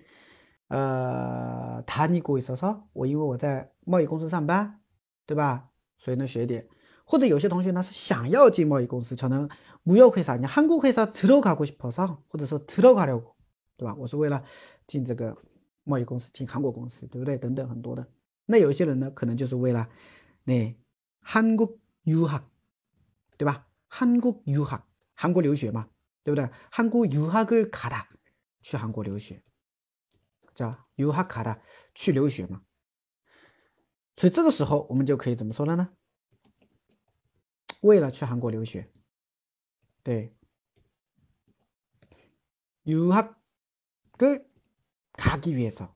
다니고 있어서，我因为我在贸易公司上班，对吧？所以呢学一点。或者有些同学呢是想要进贸易公司，저는 무역회사，你한국회사 들어가고 싶어서，或者说들어가려고，对吧？我是为了进这个贸易公司，进韩国公司，对不对？等等很多的。那有一些人呢，可能就是为了那한국 유학，对吧？한국 유학，韩国留学嘛，对不对？한국 유학을 가다，去韩国留学，叫유학 가다，去留学嘛。所以这个时候我们就可以怎么说了呢？为了去韩国留学，对，유학을 가기 위해서，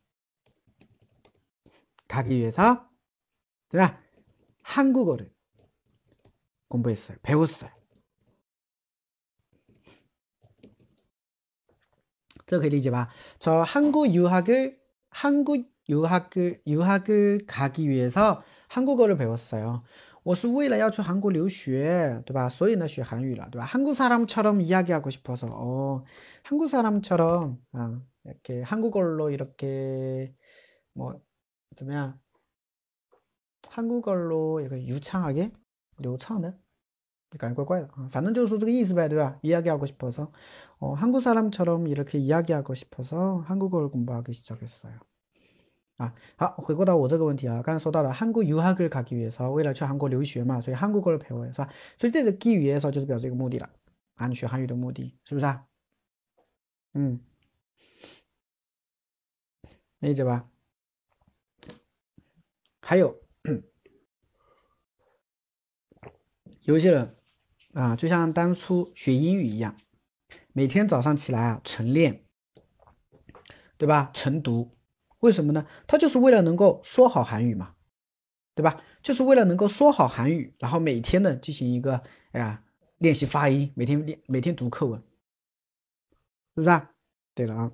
对吧？한국어를 공부했어요， 배웠어요。这可以理解吧？저 한국 유학을 가기 위해서 한국어를 배웠어요。 我是为了要去韩国留学，对吧？所以呢学韩语了，对吧？한국 사람처럼 이야기하고 싶어서， 한국 사람처럼 이렇게 한국어로 이렇게 뭐怎么样？ 한국어로 이렇게 유창하게 流畅的。感觉怪怪的啊，反正就是说这个意思呗，对吧？ 이야기하고 싶어서 한국 사람처럼 이렇게 이야기하고 싶어서 한국어를 공부하기 시작했어요。 啊，好，回过到我这个问题啊，刚才说到了한국 유학을 가기 위해서， 为了去韩国留学嘛，所以한국어를 배워요， 是吧？所以这个기위해서就是表示一个目的了啊，你学韩语的目的是不是啊？理解吧？还有有一些人啊，就像当初学英语一样，每天早上起来啊晨练，对吧？晨读，为什么呢？他就是为了能够说好韩语嘛，对吧？就是为了能够说好韩语，然后每天呢进行一个练习发音，每天读课文，是不是啊？对了啊，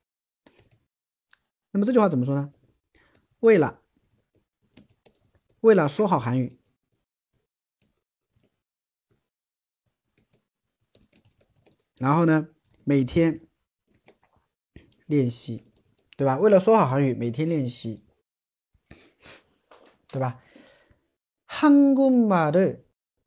那么这句话怎么说呢？为了说好韩语，然后呢每天练习，对吧？为了说好韩语，每天练习，对吧？한국말을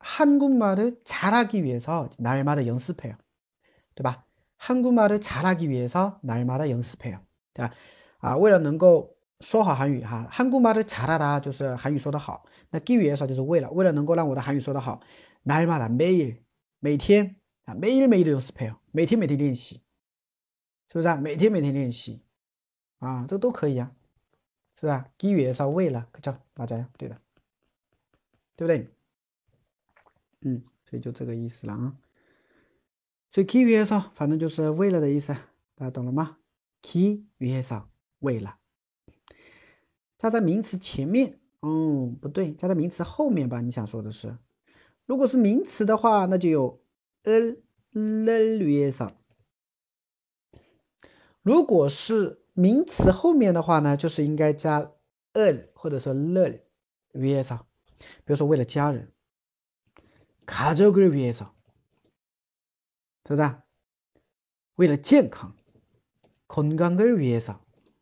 잘하기 위해서 날마다 연습해요. 对吧？ 한국말을 잘하기 위해서 날마다 연습해요. 对吧？为了能够说好韩语哈， 한국말을 잘하다就是韩语说得好，那기위해서就是为了能够让我的韩语说得好， 날마다 매일 每天매일매일 연습해요. 每天练习，是不是啊？每天练习啊，这都可以啊，是不是啊？기위해서为了， 그죠？ 맞아요， 对的，对不对？所以就这个意思了啊。所以기위해서反正就是为了的意思，大家懂了吗？기위해서为了，加在名词前面，不对，加在名词后面吧？你想说的是，如果是名词的话，那就有을 위해서。如果是名词后面的话呢，就是应该加을或者说를 위해서。比如说为了家人，가족을 위해서，是不是？为了健康，건강을 위해서，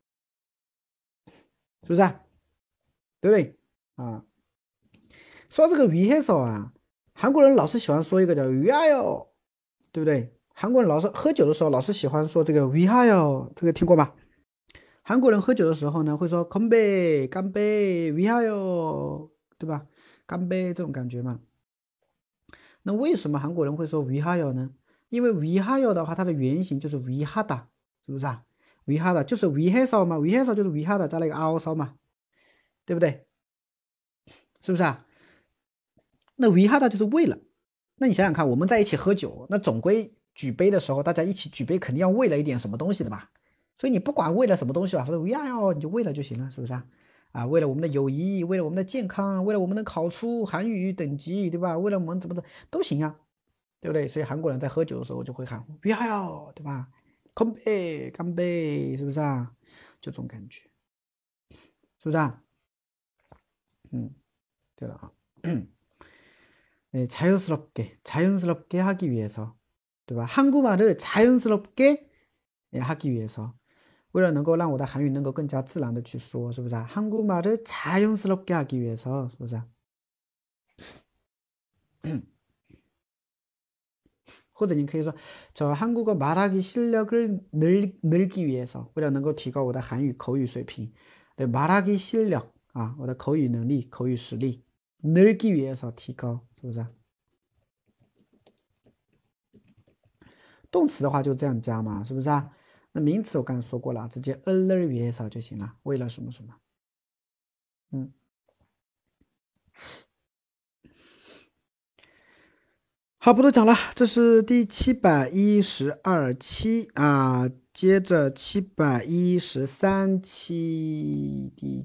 是不是？对不对啊？说这个위해서啊，韩国人老是喜欢说一个叫위하여，对不对？韩国人老是喝酒的时候老是喜欢说这个위하여，这个听过吗？ 韩国人喝酒的时候呢，会说干杯，干杯，위하여，对吧？干杯这种感觉嘛。那为什么韩国人会说위하여呢？因为위하여的话，它的原型就是위하다，是不是啊？위하다就是위해서嘛，위해서就是위하다加了一个아오서嘛，对不对？是不是啊？那위하다就是为了。那你想想看，我们在一起喝酒，那总归举杯的时候，大家一起举杯，肯定要为了一点什么东西的吧？所以你不管为了什么东西吧，反正위하여你就为了就行了，是不是啊？啊，为了我们的友谊，为了我们的健康，为了我们能考出韩语等级，对吧？为了我们怎么的都行啊，对不对？所以韩国人在喝酒的时候就会喊위하여，对吧？干杯，干杯，是不是啊？就这种感觉，是不是啊？对了啊。네, 자연스럽게 하기 위해서, 对吧? 한국말을 자연스럽게 하기 위해서, 为了能够让我的韩语能够更加自然的去说，是不是啊? 한국말을 자연스럽게 하기 위해서, 是不是啊? 或者你可以说저 한국어 말하기 실력을 늘기 위해서, 为了能够提高我的韩语口语水平, 네, 말하기 실력, 我的口语能力、口语实力 늘기 위해서 提高，是不是啊？动词的话就这样加嘛，是不是啊？那名词我刚才说过了，直接을을 위해서就行了，为了什么什么。好，不多讲了，这是第712期啊，接着713期，第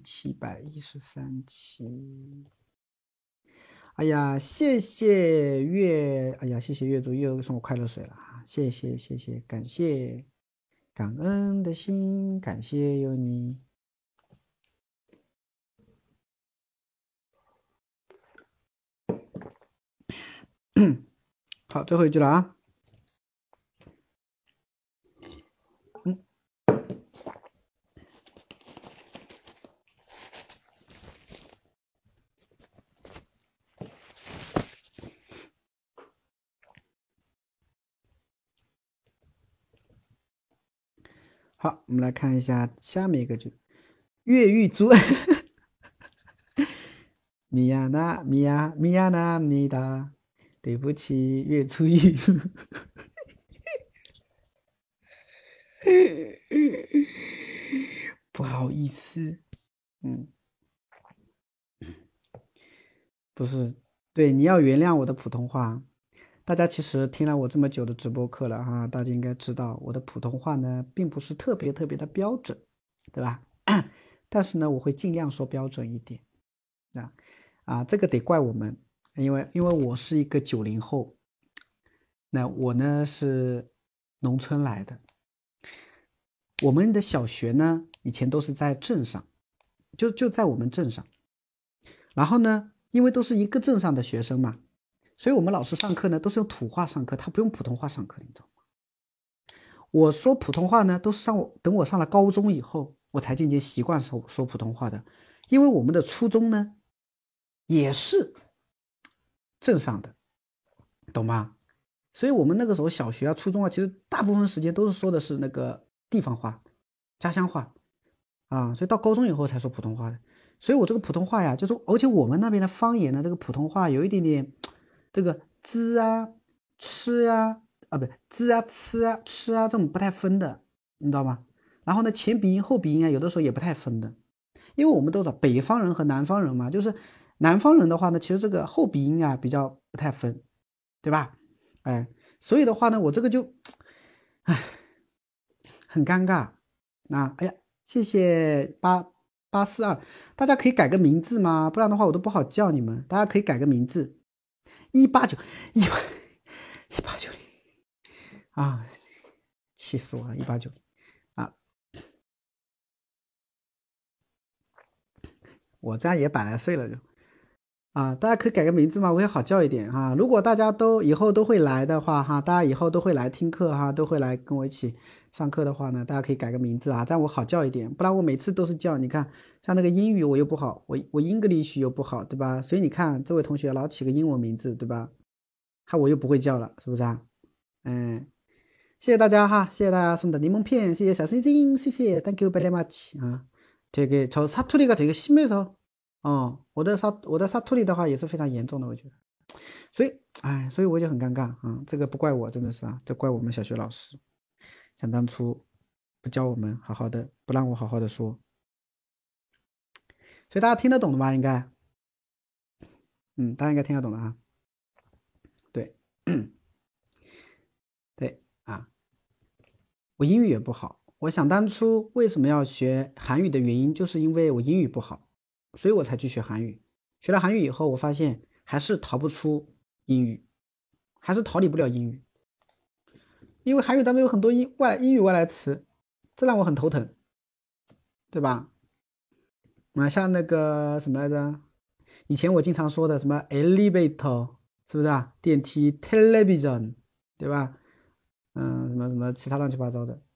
713期。哎呀，谢谢月，哎呀，谢谢月主又送我快乐水了啊！谢谢，感谢，感恩的心，感谢有你。好，最后一句了啊。好，我们来看一下下面一个句，越狱族。미안합니다. 对不起，月初一。不好意思，不是，对，你要原谅我的普通话。大家其实听了我这么久的直播课了哈，大家应该知道我的普通话呢，并不是特别的标准，对吧？但是呢，我会尽量说标准一点。这个得怪我们，因为我是一个90后，那我呢是农村来的，我们的小学呢以前都是在镇上，就在我们镇上，然后呢，因为都是一个镇上的学生嘛，所以我们老师上课呢都是用土话上课，他不用普通话上课，你知道吗？我说普通话呢，都是等我上了高中以后，我才渐渐习惯说普通话的，因为我们的初中呢也是镇上的，懂吗？所以我们那个时候小学啊、初中啊，其实大部分时间都是说的是那个地方话、家乡话啊，所以到高中以后才说普通话的。所以我这个普通话呀，就是而且我们那边的方言呢，这个普通话有一点点这个滋啊、吃啊不滋啊、吃啊、吃啊这种不太分的，你知道吗？然后呢，前鼻音后鼻音啊，有的时候也不太分的，因为我们都知道北方人和南方人嘛，就是南方人的话呢，其实这个后鼻音啊比较不太分，对吧？哎，所以的话呢，我这个就，哎，很尴尬。哎呀，谢谢8842，大家可以改个名字吗？不然的话我都不好叫你们。大家可以改个名字，18910啊，气死我了，189啊，我这样也100来岁了就。大家可以改个名字吗？我也好叫一点哈。如果大家都以后都会来的话哈，大家以后都会来听课哈，都会来跟我一起上课的话呢，大家可以改个名字啊，这样我好叫一点。不然我每次都是叫，你看像那个英语我又不好，我 English 又不好，对吧？所以你看这位同学老起个英文名字，对吧？我又不会叫了，是不是啊？ 谢谢大家哈，谢谢大家送的柠檬片，谢谢小星星，谢谢 Thank you very much啊。저 사투리가 되게 심해서我的사투리的话也是非常严重的，我觉得。所以我就很尴尬啊，这个不怪我，真的是啊，这怪我们小学老师，想当初不教我们好好的，不让我好好的说。所以大家听得懂的吧？应该，大家应该听得懂的啊。对，对啊，我英语也不好。我想当初为什么要学韩语的原因，就是因为我英语不好，所以我才去学韩语。学了韩语以后，我发现还是逃不出英语，还是逃离不了英语，因为韩语当中有很多英语外来词，这让我很头疼，对吧？像那个什么来着？以前我经常说的什么 elevator， 是不是啊？电梯 television， 对吧？什么什么其他乱七八糟的，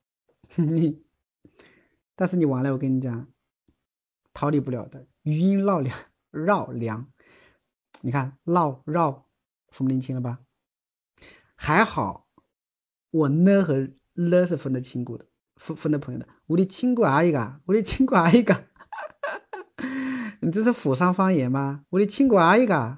但是你完了，我跟你讲，逃离不了的，余音绕梁。你看绕分不清了吧？还好我呢和了是分得清楚的，分得朋友的。우리 친구 아이가， 우리 친구 아이가， 你这是府上方言吗？우리 친구 아이가，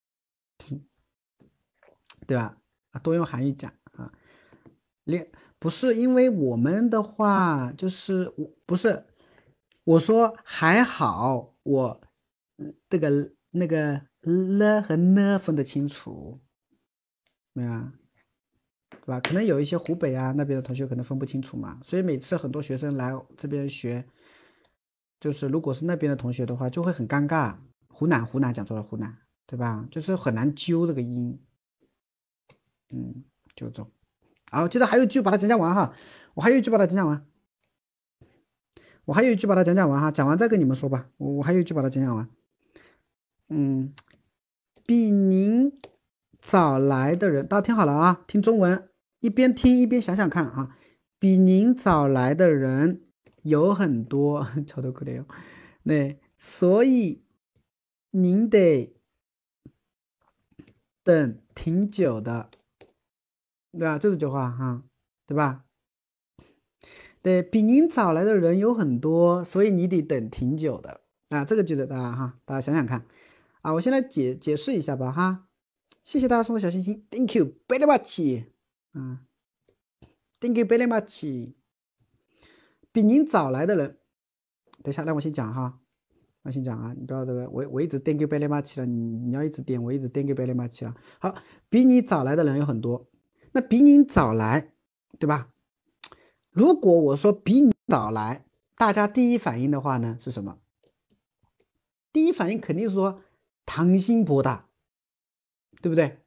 对吧？多用韩语讲啊。不是因为我们的话，就是不是我说还好，我这个那个了和呢分得清楚，对吧？对吧？可能有一些湖北啊那边的同学可能分不清楚嘛，所以每次很多学生来这边学，就是如果是那边的同学的话，就会很尴尬。湖南讲错了，湖南，对吧？就是很难揪这个音，就这种。好，接着还有一句把它讲完哈，我还有一句把它讲完哈，讲完再跟你们说吧。我还有一句把它讲完。比您早来的人，大家听好了啊，听中文，一边听一边想想看啊。比您早来的人有很多，超多可怜哦。那所以您得等挺久的，对吧？这句话哈，对吧？对比您早来的人有很多，所以你得等挺久的啊。这个句子大家想想看啊。我先来解释一下吧哈。谢谢大家送的小心心 ，Thank you very much， Thank you very much。比您早来的人，等一下让我先讲哈，我先讲啊，你不要这个，我一直 Thank you very much 了，你要一直点，我一直 Thank you very much 了。好，比你早来的人有很多，那比你早来，对吧？如果我说比你早来，大家第一反应的话呢是什么？第一反应肯定是说당신보다，对不对？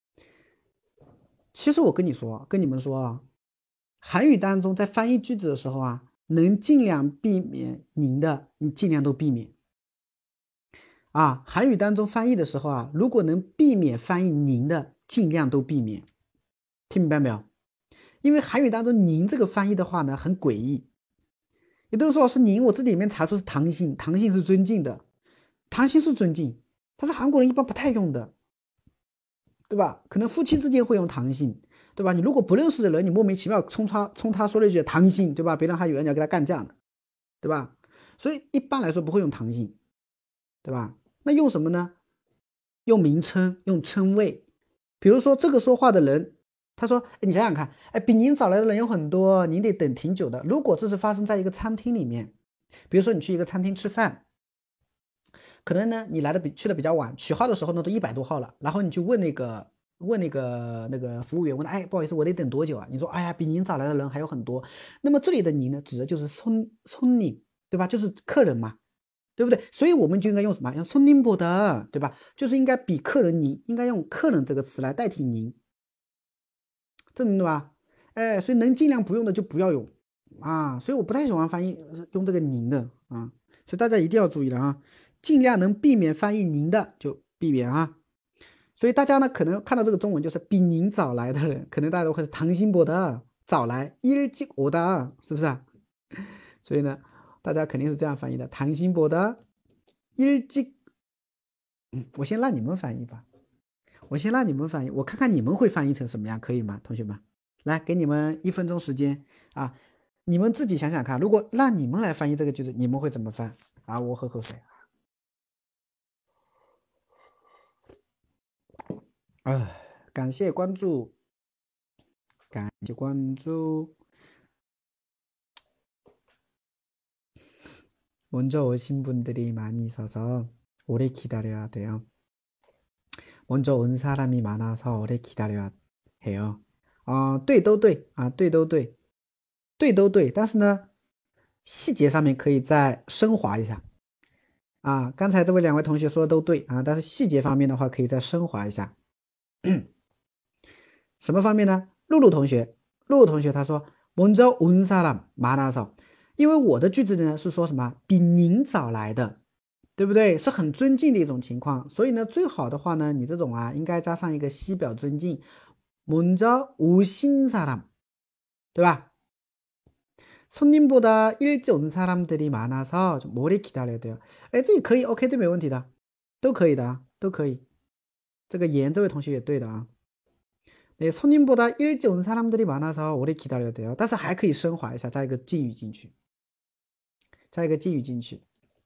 其实我跟你们说啊，韩语当中在翻译句子的时候啊，能尽量避免您的，你尽量都避免啊。韩语当中翻译的时候啊，如果能避免翻译您的，尽量都避免。听明白没有？因为韩语当中您这个翻译的话呢，很诡异。有的人说老师您，我这里面查出是당신，당신是尊敬的，당신是尊敬，但是韩国人一般不太用的，对吧？可能夫妻之间会用당신，对吧？你如果不认识的人，你莫名其妙冲他说了一句당신，对吧？别人还以为你要跟他干架呢，对吧？所以一般来说不会用당신，对吧？那用什么呢？用名称，用称谓。比如说这个说话的人，他说：“你想想看，比您早来的人有很多，您得等挺久的。”如果这是发生在一个餐厅里面，比如说你去一个餐厅吃饭，可能呢你去的比较晚，取号的时候呢都100多号了，然后你就问那个服务员，问他，不好意思，我得等多久啊？你说，哎呀，比您早来的人还有很多。那么这里的您呢，指的就是손님，对吧？就是客人嘛，对不对？所以我们就应该用什么？用손님보다，对吧？就是应该比客人您，应该用客人这个词来代替您，这对吧？所以能尽量不用的就不要用啊。所以我不太喜欢翻译用这个您的啊，所以大家一定要注意了啊，尽量能避免翻译您的就避免啊。所以大家呢可能看到这个中文就是比您早来的人，可能大家都会是당신보다早来일찍 오다，是不是啊？所以呢，大家肯定是这样翻译的，당신보다 일찍。我先让你们翻译吧，我看看你们会翻译成什么样，可以吗，同学们？ 来，给你们1分钟时间啊，你们自己想想看，如果让你们来翻译这个句子，你们会怎么翻啊？我喝口水。感谢关注，感谢关注。 먼저 오신 분들이 많이 있어서 오래 기다려야 돼요. 먼저 온 사람이 많아서 오래 기다려야 해요. 对都对啊，对都对，对都对，但是呢，细节上面可以再升华一下啊。刚才这位2位同学说的都对啊，但是细节方面的话可以再升华一下。什么方面呢？露露同学他说먼저 온 사람 많아서，因为我的句子呢是说什么比您早来的，对不对？是很尊敬的一种情况，所以呢，最好的话呢，你这种啊应该加上一个西表尊敬，먼저 오신 사람，对吧？손님보다 일찍 온 사람들이 많아서 좀 오래 기다려야 돼요。哎，这也可以 ，OK， 对，没问题的，都可以的啊，都可以。这个言这位同学也对的啊。네 손님보다 일찍 온 사람들이 많아서 오래 기다려야 돼요。但是还可以升华一下，加一个敬语进去，加一个敬语进去，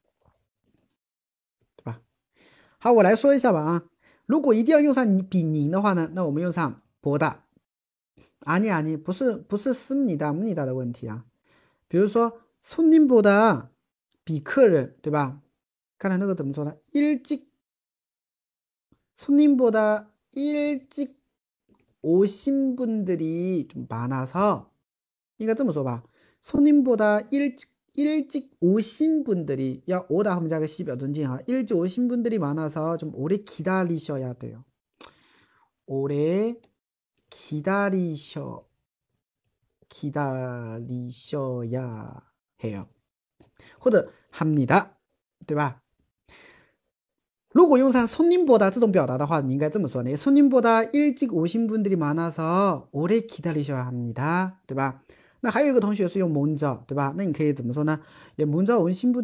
对吧？好，我来说一下吧啊。如果一定要用上比您的话呢，那我们用上보다。아니， 不是습니다的问题啊。比如说손님보다比客人，对吧？刚才那个怎么说呢？일찍 손님보다 일찍 오신 분들이 좀 많아서， 应该这么说吧。손님보다 일찍 오신 분들이， 要오다后面加个西表尊敬啊。일찍 오신 분들이 많아서 좀 오래 기다리셔야 돼요。 오래 기다리셔야 해요， 或者합니다， 对吧？如果用上손님보다这种表达的话，你应该这么说呢。손님보다 일찍 오신 분들이 많아서 오래 기다리셔야 합니다， 对吧？那还有一个同学是用먼저， 对吧？那你可以怎么说呢？也먼저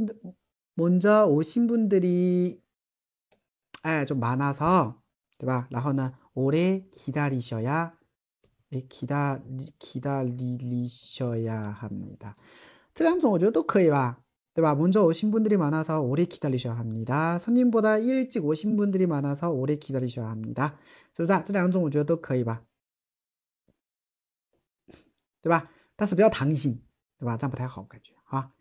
오신 분들이 좀 많아서， 对吧？然后呢，오래 기다리셔야 합니다。 这2种我觉得都可以吧，对吧？먼저 오신 분들이 많아서 오래 기다리셔야 합니다。 손님보다 일찍 오신 분들이 많아서 오래 기다리셔야 합니다。 是不是啊？这2种我觉得都可以吧，对吧？但是不要唐型，对吧？这样不太好感觉啊。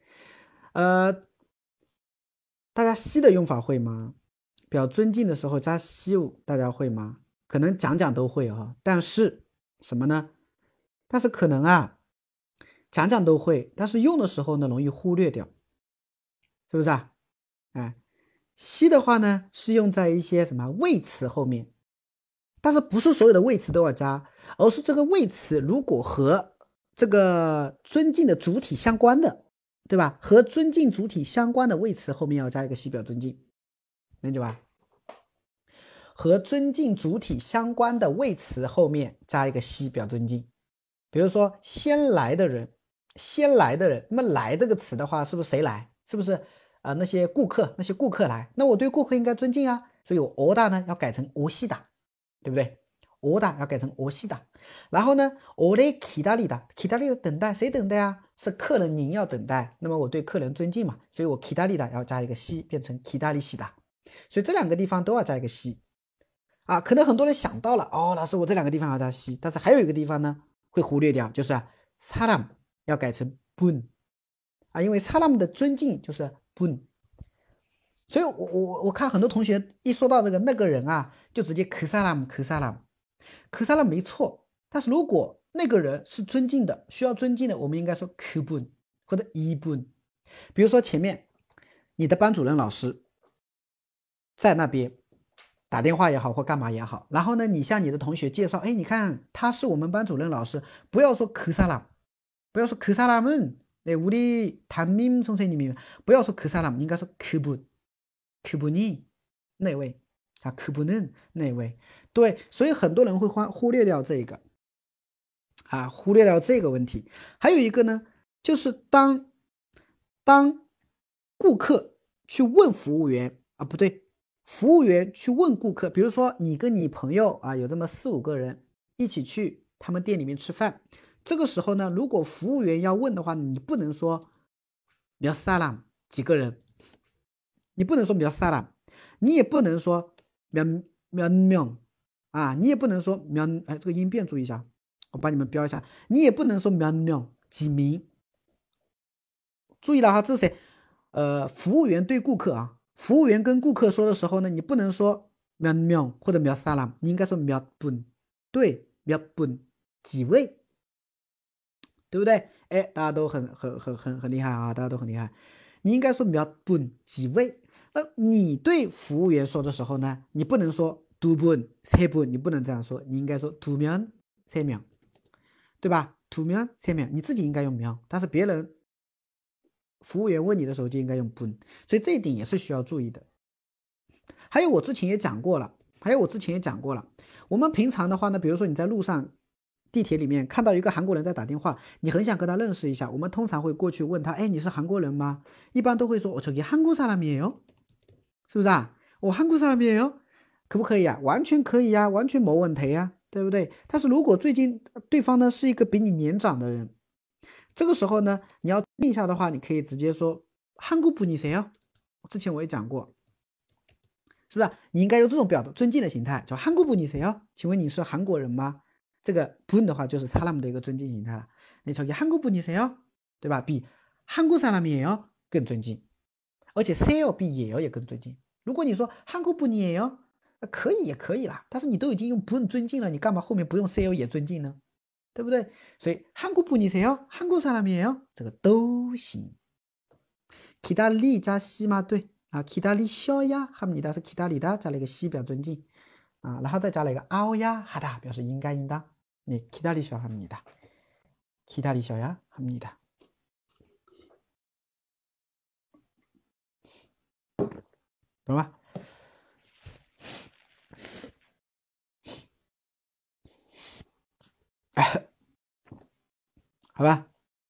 大家西的用法会吗？表尊敬的时候加西物，大家会吗？可能讲都会啊，但是什么呢？但是可能啊，讲都会，但是用的时候呢，容易忽略掉，是不是啊？哎，西的话呢，是用在一些什么谓词后面，但是不是所有的谓词都要加，而是这个谓词如果和这个尊敬的主体相关的，对吧？和尊敬主体相关的谓词后面要加一个西表尊敬，明白吧？和尊敬主体相关的谓词后面加一个西表尊敬。比如说先来的人，那么来这个词的话，是不是谁来？是不是那些顾客来？那我对顾客应该尊敬啊，所以我오다呢要改成오시다，对不对？오다要改成오시다。然后呢，오래 기다리다等待，谁等待啊？是客人您要等待，那么我对客人尊敬嘛，所以我기다리다要加一个西，变成기다리시다。所以这2个地方都要加一个西啊。可能很多人想到了，老师我这2个地方要加西，但是还有一个地方呢会忽略掉，就是사람要改成분啊，因为사람的尊敬就是분。所以我看很多同学一说到那个人啊，就直接그 사람没错，但是如果那个人是尊敬的，需要尊敬的，我们应该说그분或者이분。比如说前面你的班主任老师在那边打电话也好或干嘛也好，然后呢你向你的同学介绍，你看他是我们班主任老师，不要说그 사람，不要说그 사람은 네 우리 담임 선생님이，不要说그 사람，应该说그분이那位啊，그분은那位。对，所以很多人会忽略掉这个啊，忽略掉这个问题。还有一个呢，就是当顾客去问服务员啊，不对，服务员去问顾客，比如说你跟你朋友啊有这么4-5个人一起去他们店里面吃饭。这个时候呢，如果服务员要问的话，你不能说몇 사람几个人，你不能说몇 사람，你也不能说몇 명啊，你也不能说몇，这个音变注意一下，我帮你们标一下，你也不能说몇 명几名。注意了哈，这是谁？服务员对顾客啊，服务员跟顾客说的时候呢，你不能说몇 명或者몇 사람，你应该说몇 분，对，몇 분几位，对不对？哎，大家都很厉害啊，大家都很厉害。你应该说몇 분几位。那你对服务员说的时候呢，你不能说두 분 세 분，你不能这样说，你应该说두 명 세 명，对吧？두 명 세 명，你自己应该用명，但是别人服务员问你的时候就应该用분，所以这一点也是需要注意的。还有我之前也讲过了，我们平常的话呢，比如说你在路上地铁里面看到一个韩国人在打电话，你很想跟他认识一下，我们通常会过去问他，哎，你是韩国人吗？一般都会说，저기 한국 사람이에요，是不是啊？我한국 사람이에요，可不可以啊？完全可以啊，完全没问题啊，对不对？但是如果最近对方呢是一个比你年长的人，这个时候呢，你要定下的话，你可以直接说한국 분이세요。之前我也讲过，是不是？你应该用这种表达尊敬的形态，叫한국 분이세요？请问你是韩国人吗？这个분的话就是사람的一个尊敬形态了。你저기 한국 분이세요？对吧？比한국 사람이에요更尊敬，而且세요比예요也更尊敬。如果你说한국 분이에요，可以也可以啦，但是你都已经用분尊敬了，你干嘛后面不用세요也尊敬呢？对不对？所以한국 분이세요？한국 사람이에요？这个都行。기다리자 시마对啊，기다리셔야 합니다是기다리다加了一个시表尊敬啊，然后再加了一个아오야 하다表示应该应当。你기다리셔야 합니다， 기다리셔야 합니다， 懂吗？好吧。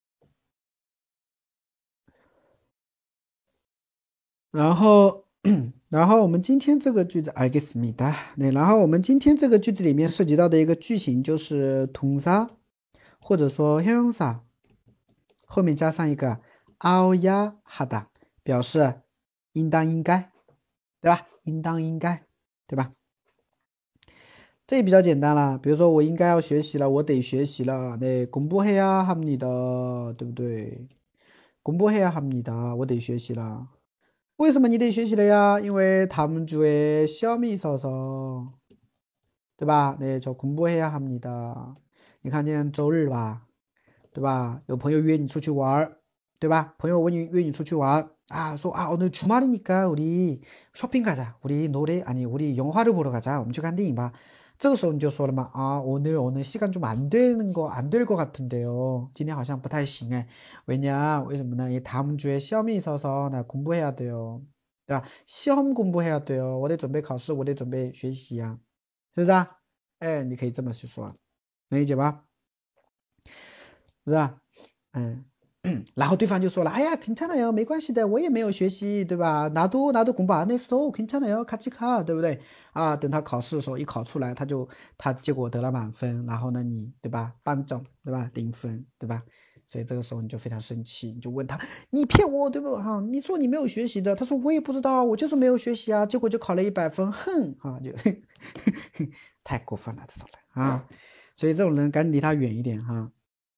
然后我们今天这个句子알겠습니다。然后我们今天这个句子里面涉及到的一个句型就是동사或者说형용사后面加上一个아오야 하다，表示应当应该，对吧？应当应该，对吧？这也比较简单了，比如说我应该要学习了，我得学习了，네 공부해야 합니다，对不对？공부해야 합니다，我得学习了。为什么你得学习了呀？因为다음 주에 시험이 있어서，对吧？네 저 공부해야 합니다。你看今天周日吧，对吧？有朋友约你出去玩，对吧？朋友约你出去玩啊，说啊오늘 주말이니까 우리 쇼핑 가자， 우리 영화를 보러 가자， 我们去看电影吧。这个时候你就说了嘛，啊오늘 시간 좀 안 될 것 같은데요， 今天好像不太行哎，为什么呢？다음 주에 시험이 있어서 나 공부해야 돼요， 对吧？ 시험 공부해야 돼요， 我得准备考试，我得准备学习呀，是不是啊？哎，你可以这么去说，能理解吧？是吧？然后对方就说了，哎呀，괜찮아요，没关系的，我也没有学习，对吧？나도 공부 안 했어， 괜찮아요，같이 가， 对不对？啊，等他考试的时候一考出来，他结果得了满分，然后呢你对吧，班长对吧，0分对吧？所以这个时候你就非常生气，你就问他，你骗我对不对？哈，你说你没有学习的，他说我也不知道，我就是没有学习啊，结果就考了100分，哼啊，就太过分了这种人啊，所以这种人赶紧离他远一点哈。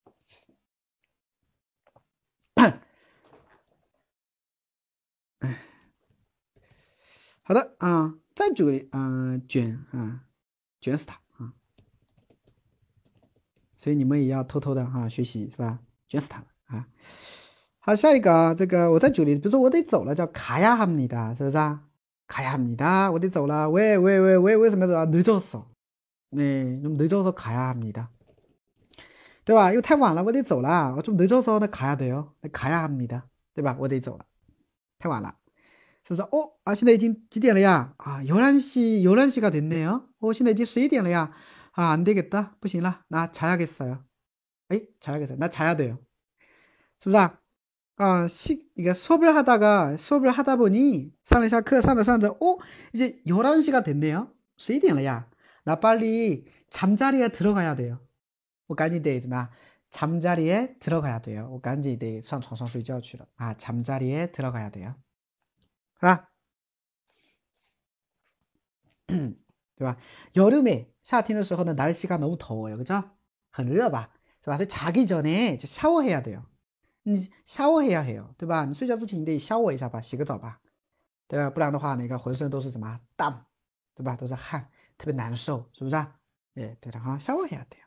好的啊，再举个卷死他啊！所以你们也要偷偷的学习是吧？卷死他啊！好，下一个啊，这个我再举例，比如说我得走了，叫가야 합니다，是不是啊？가야 합니다，我得走了，为什么要走啊？늦었어，네，좀 늦어서 가야 합니다，对吧？因为太晚了，我得走了，我좀 늦어서 나 가야 돼요， 가야 합니다，对吧？我得走了，太晚了。是不是？现在已经几点了呀？啊11시가 됐네요.现在已经11点了呀. 안 되겠다. 不行了. 나 자야겠어요. 자야겠어요. 나 자야 돼요. 是不是啊？이게 수업을 하다 보니 上了下课 上着 이제 11시가 됐네요. 11点了呀. 나 빨리 잠자리에 들어가야 돼요. 我赶紧得怎么样？ 잠자리에 들어가야 돼요. 我赶紧得上床上睡觉去了啊 잠자리에 들어가야 돼요. 是吧？对吧？ 여름에 夏天的时候呢 날씨가 너무 더워요. 그죠? 很热吧？是吧？所以 자기 전에 샤워해야 돼요. 你 샤워해야 해요. 对吧？你睡觉之前你得 샤워 一下吧，洗个澡吧，对吧？不然的话那个浑身都是什么땀，对吧？都是汗，特别难受，是不是啊？哎，对的哈， 샤워해야 돼요.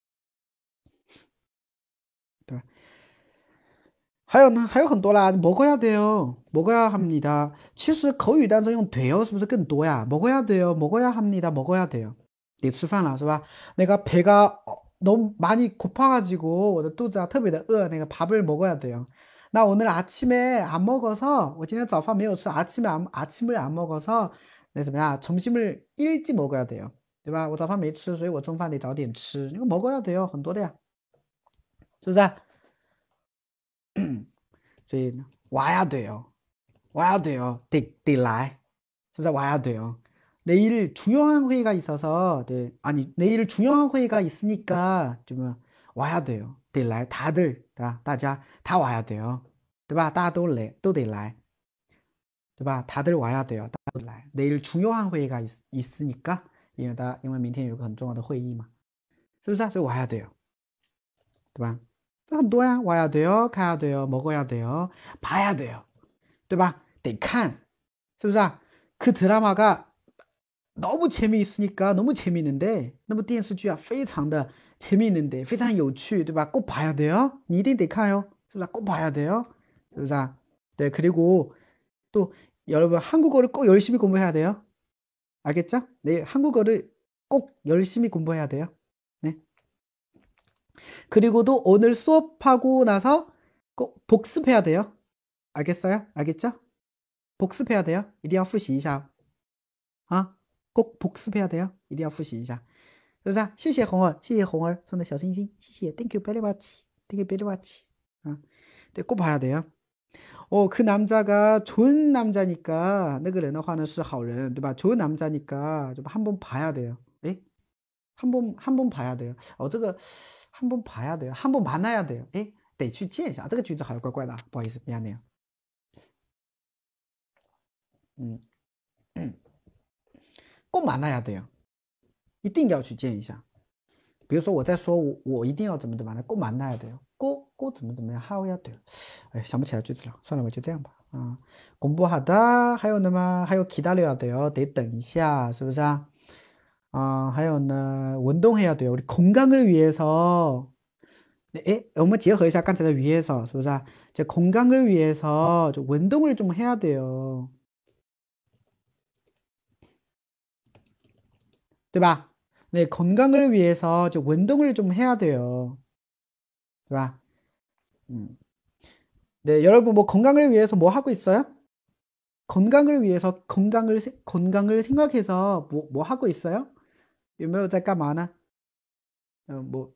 对吧？还有呢，还有很多啦， 먹어야 돼요. 먹어야 합니다. 其实口语当中用 돼요 是不是更多呀？ 먹어야 돼요. 먹어야 합니다. 먹어야 돼요. 得吃饭了是吧？那个 배가 너무 많이 고파가지고 我的肚子啊特别的饿，那个 밥을 먹어야 돼요. 나 오늘 아침에 안 먹어서 我今天早饭没有吃 아침을 안 먹어서 那怎么样 점심을 일찍 먹어야 돼요. 对吧？我早饭没吃，所以我中饭得早点吃。那个 먹어야 돼요 很多的呀，是不是？所以 와야 돼요. 와야 돼요. 돼来. 진짜 와야 돼요. 내일 중요한 회의가 있어서, 네, 아니, 내일 중요한 회의가 있으니까, 좀, 와야 돼요. 得来, 다들, 大家, 다 와야 돼요. 对吧? 大家都得来. 对吧? 다들 와야 돼요. 다들来. 내일 중요한 회의가 있으니까, 因为明天有个很重要的会议嘛. 是不是？所以 와야 돼요. 对吧？很多呀， 와야 돼요, 가야 돼요, 먹어야 돼요, 봐야 돼요. 对吧？得看，是不是啊？ 그 드라마가 너무 재미있으니까 너무 재미있는데, 那部电视剧啊非常的 재미있는데, 非常有趣, 对吧？ 꼭 봐야 돼요. 你一定得看哟， 是不是？ 꼭 봐야 돼요. 是不是啊？ 네, 그리고 또 여러분 한국어를 꼭 열심히 공부해야 돼요. 알겠죠? 네, 한국어를 꼭 열심히 공부해야 돼요. 네. 그리고도 오늘 수업하고 나서 꼭 복습해야 돼요. 알겠어요? 알겠죠? 복습해야 돼요. 一定要复习一下. 아, 꼭 복습해야 돼요. 一定要复习一下. 그래서 谢谢红儿，谢谢红儿 送的小星星， 谢谢 Thank you very much. Thank you very much. 아, 네, 꼭 봐야 돼요. 그 남자가 좋은 남자니까 那个人的话呢是好人，对吧？ 좋은 남자니까 좀 한번 봐야 돼요. 에? 한번 봐야 돼요. 这个 한번 봐야 돼요. 한번 만나야 돼요. 诶，得去见一下。这个句子好像怪怪的，不好意思，미안해요。 꼭 만나야 돼요. 一定要去见一下。比如说我在说我一定要怎么呢？ 꼭 만나야 돼요. 꼭怎么样 하여야 돼요. 哎，想不起来句子了，算了，我就这样吧。啊， 공부하다 还有呢吗？还有 기다려야 돼요. 得等一下，是不是啊？ 还有呢， 운동해야 돼요. 우리 건강을 위해서. 네, 我们结合一下刚才的 위해서, 是不是啊？ 제 건강을 위해서 좀 운동을 좀 해야 돼요. 对吧？ 네, 건강을 위해서 좀 운동을 좀 해야 돼요. 对吧？ 네, 여러분 뭐 건강을 위해서 뭐 하고 있어요? 건강을 위해서 건강을 생각해서 뭐 하고 있어요? 有没有在干嘛呢？ 뭐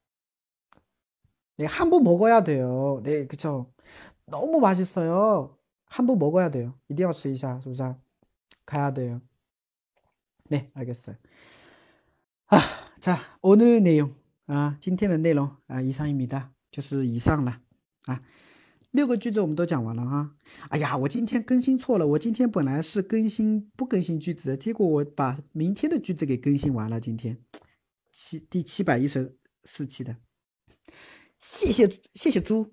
네, 한 번 먹어야 돼요. 네, 그쵸. 너무 맛있어요. 한 번 먹어야 돼요. 一定要吃一下，是不是啊？ 가야 돼요. 네, 알겠어요. 자, 오늘 내용, 今天的内容 이상입니다. 就是以上了啊。6个句子我们都讲完了哈。哎呀，我今天更新错了，我今天本来是不更新句子的，结果我把明天的句子给更新完了。今天第714期的，谢谢猪，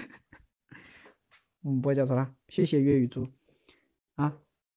不会叫错了，谢谢粤语猪啊。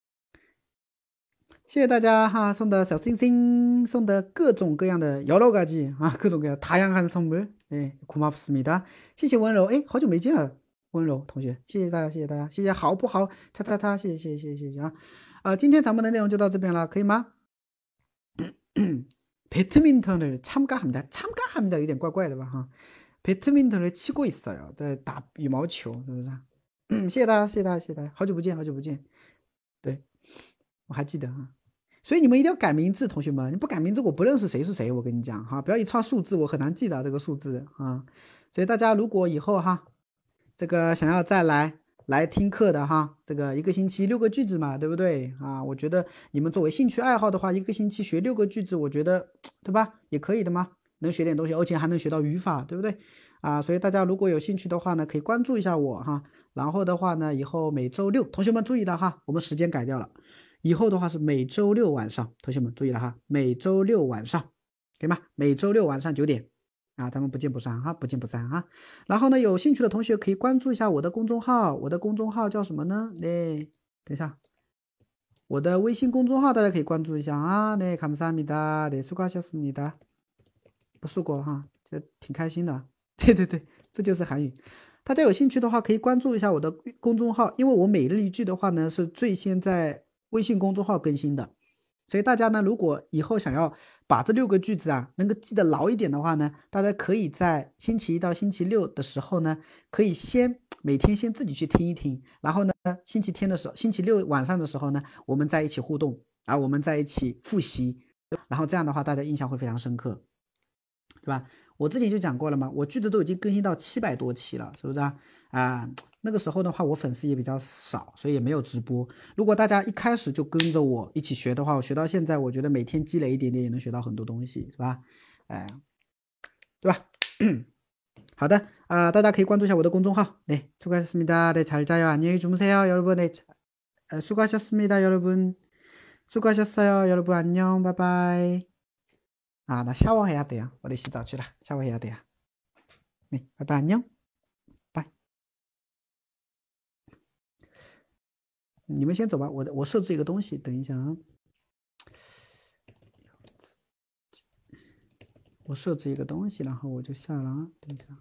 谢谢大家哈，送的小星星，送的各种各样的여러가지啊，各种各样다양한 선물， 네， 고맙습니다。谢谢温柔，哎，好久没见了，温柔同学，谢谢大家，谢谢大家，谢谢好不好？叉叉叉，谢谢啊。今天咱们的内容就到这边了，可以吗？배드민턴을 참가합니다. 有点怪怪的吧哈。 배드민턴을 치고 있어요. 在打羽毛球，是不是？谢谢大家，好久不见。对，我还记得哈。所以你们一定要改名字，同学们，你不改名字我不认识谁是谁，我跟你讲哈，不要一串数字我很难记得这个数字啊。所以大家如果以后哈，这个想要再来听课的哈，这个一个星期6个句子嘛，对不对啊？我觉得你们作为兴趣爱好的话，一个星期学6个句子，我觉得对吧，也可以的嘛。 能学点东西，而且还能学到语法，对不对？啊，所以大家如果有兴趣的话呢，可以关注一下我哈。然后的话呢，以后每周六，同学们注意了哈，我们时间改掉了，以后的话是每周六晚上，同学们注意了哈，每周六晚上，可以吗？每周六晚上9点，啊，咱们不见不散哈，不见不散哈。然后呢，有兴趣的同学可以关注一下我的公众号，我的公众号叫什么呢？等一下，我的微信公众号大家可以关注一下啊。감사합니다。수고하셨습니다。不错过哈，就挺开心的。对对对，这就是韩语。大家有兴趣的话，可以关注一下我的公众号，因为我每日一句的话呢，是最先在微信公众号更新的。所以大家呢，如果以后想要把这6个句子啊能够记得牢一点的话呢，大家可以在星期一到星期六的时候呢，可以每天先自己去听一听，然后呢，星期天的时候，星期六晚上的时候呢，我们在一起互动啊，我们在一起复习，然后这样的话，大家印象会非常深刻。对吧？我之前就讲过了嘛，我句子都已经更新到700多期了，是不是啊？啊，那个时候的话，我粉丝也比较少，所以也没有直播。如果大家一开始就跟着我一起学的话，我学到现在，我觉得每天积累一点点也能学到很多东西，是吧？哎，对吧？好的啊，大家可以关注一下我的公众号。네， 수고하셨습니다。 네， 잘 자요。 안녕히 주무세요， 여러분。 네， 수고하셨습니다， 여러분。 수고하셨어요， 여러분。 안녕， 拜拜。啊，那샤워해야 돼요。 我得洗澡去了，샤워해야 돼요。 네， 拜拜， 안녕， 拜。你们先走吧，我设置一个东西，等一下啊。我设置一个东西，然后我就下了啊。等一下，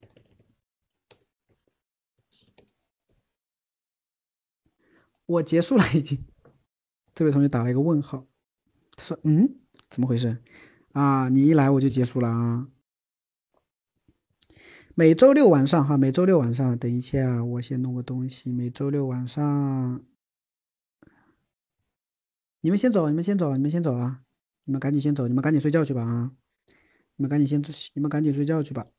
我结束了已经。这位同学打了一个问号，他说：“怎么回事？啊，你一来我就结束了啊。”每周六晚上哈，每周六晚上，等一下，我先弄个东西。每周六晚上，你们先走，你们先走，你们先走啊！你们赶紧先走，你们赶紧睡觉去吧啊！你们赶紧睡觉去吧。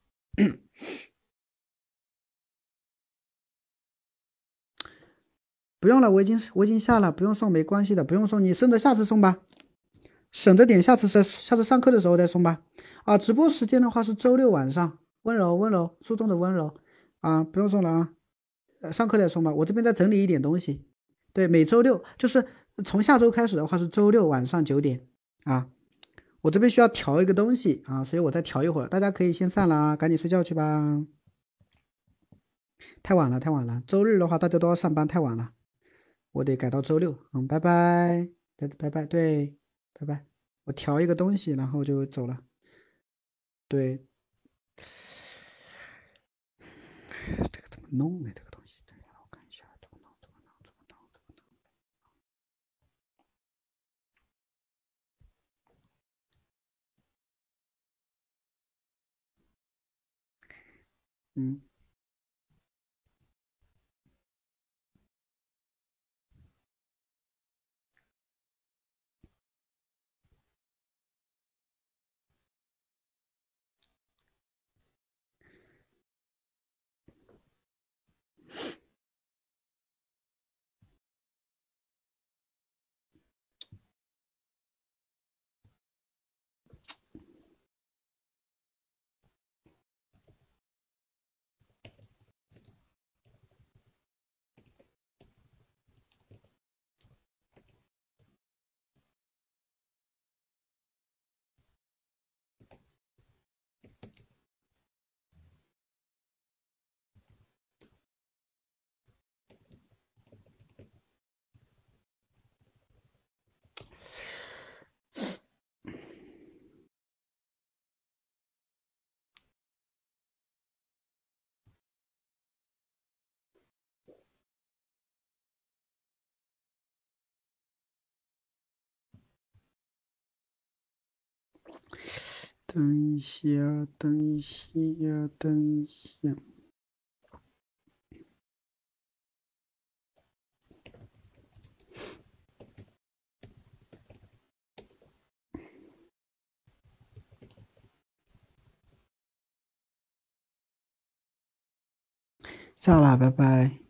不用了，我已经下了，不用送，没关系的，不用送，你省着下次送吧，省着点，下次上课的时候再送吧。啊，直播时间的话是周六晚上，温柔温柔，书中的温柔啊，不用送了啊，上课再送吧。我这边再整理一点东西。对，每周六就是从下周开始的话是周六晚上9点啊。我这边需要调一个东西啊，所以我再调一会儿，大家可以先散了啊，赶紧睡觉去吧。太晚了，太晚了，周日的话大家都要上班，太晚了。我得改到周六，拜拜，拜拜，对，拜拜。我调一个东西，然后就走了。对，这个怎么弄呢？这个东西，我看一下，怎么弄？等一下，等一下，等一下。下了，拜拜。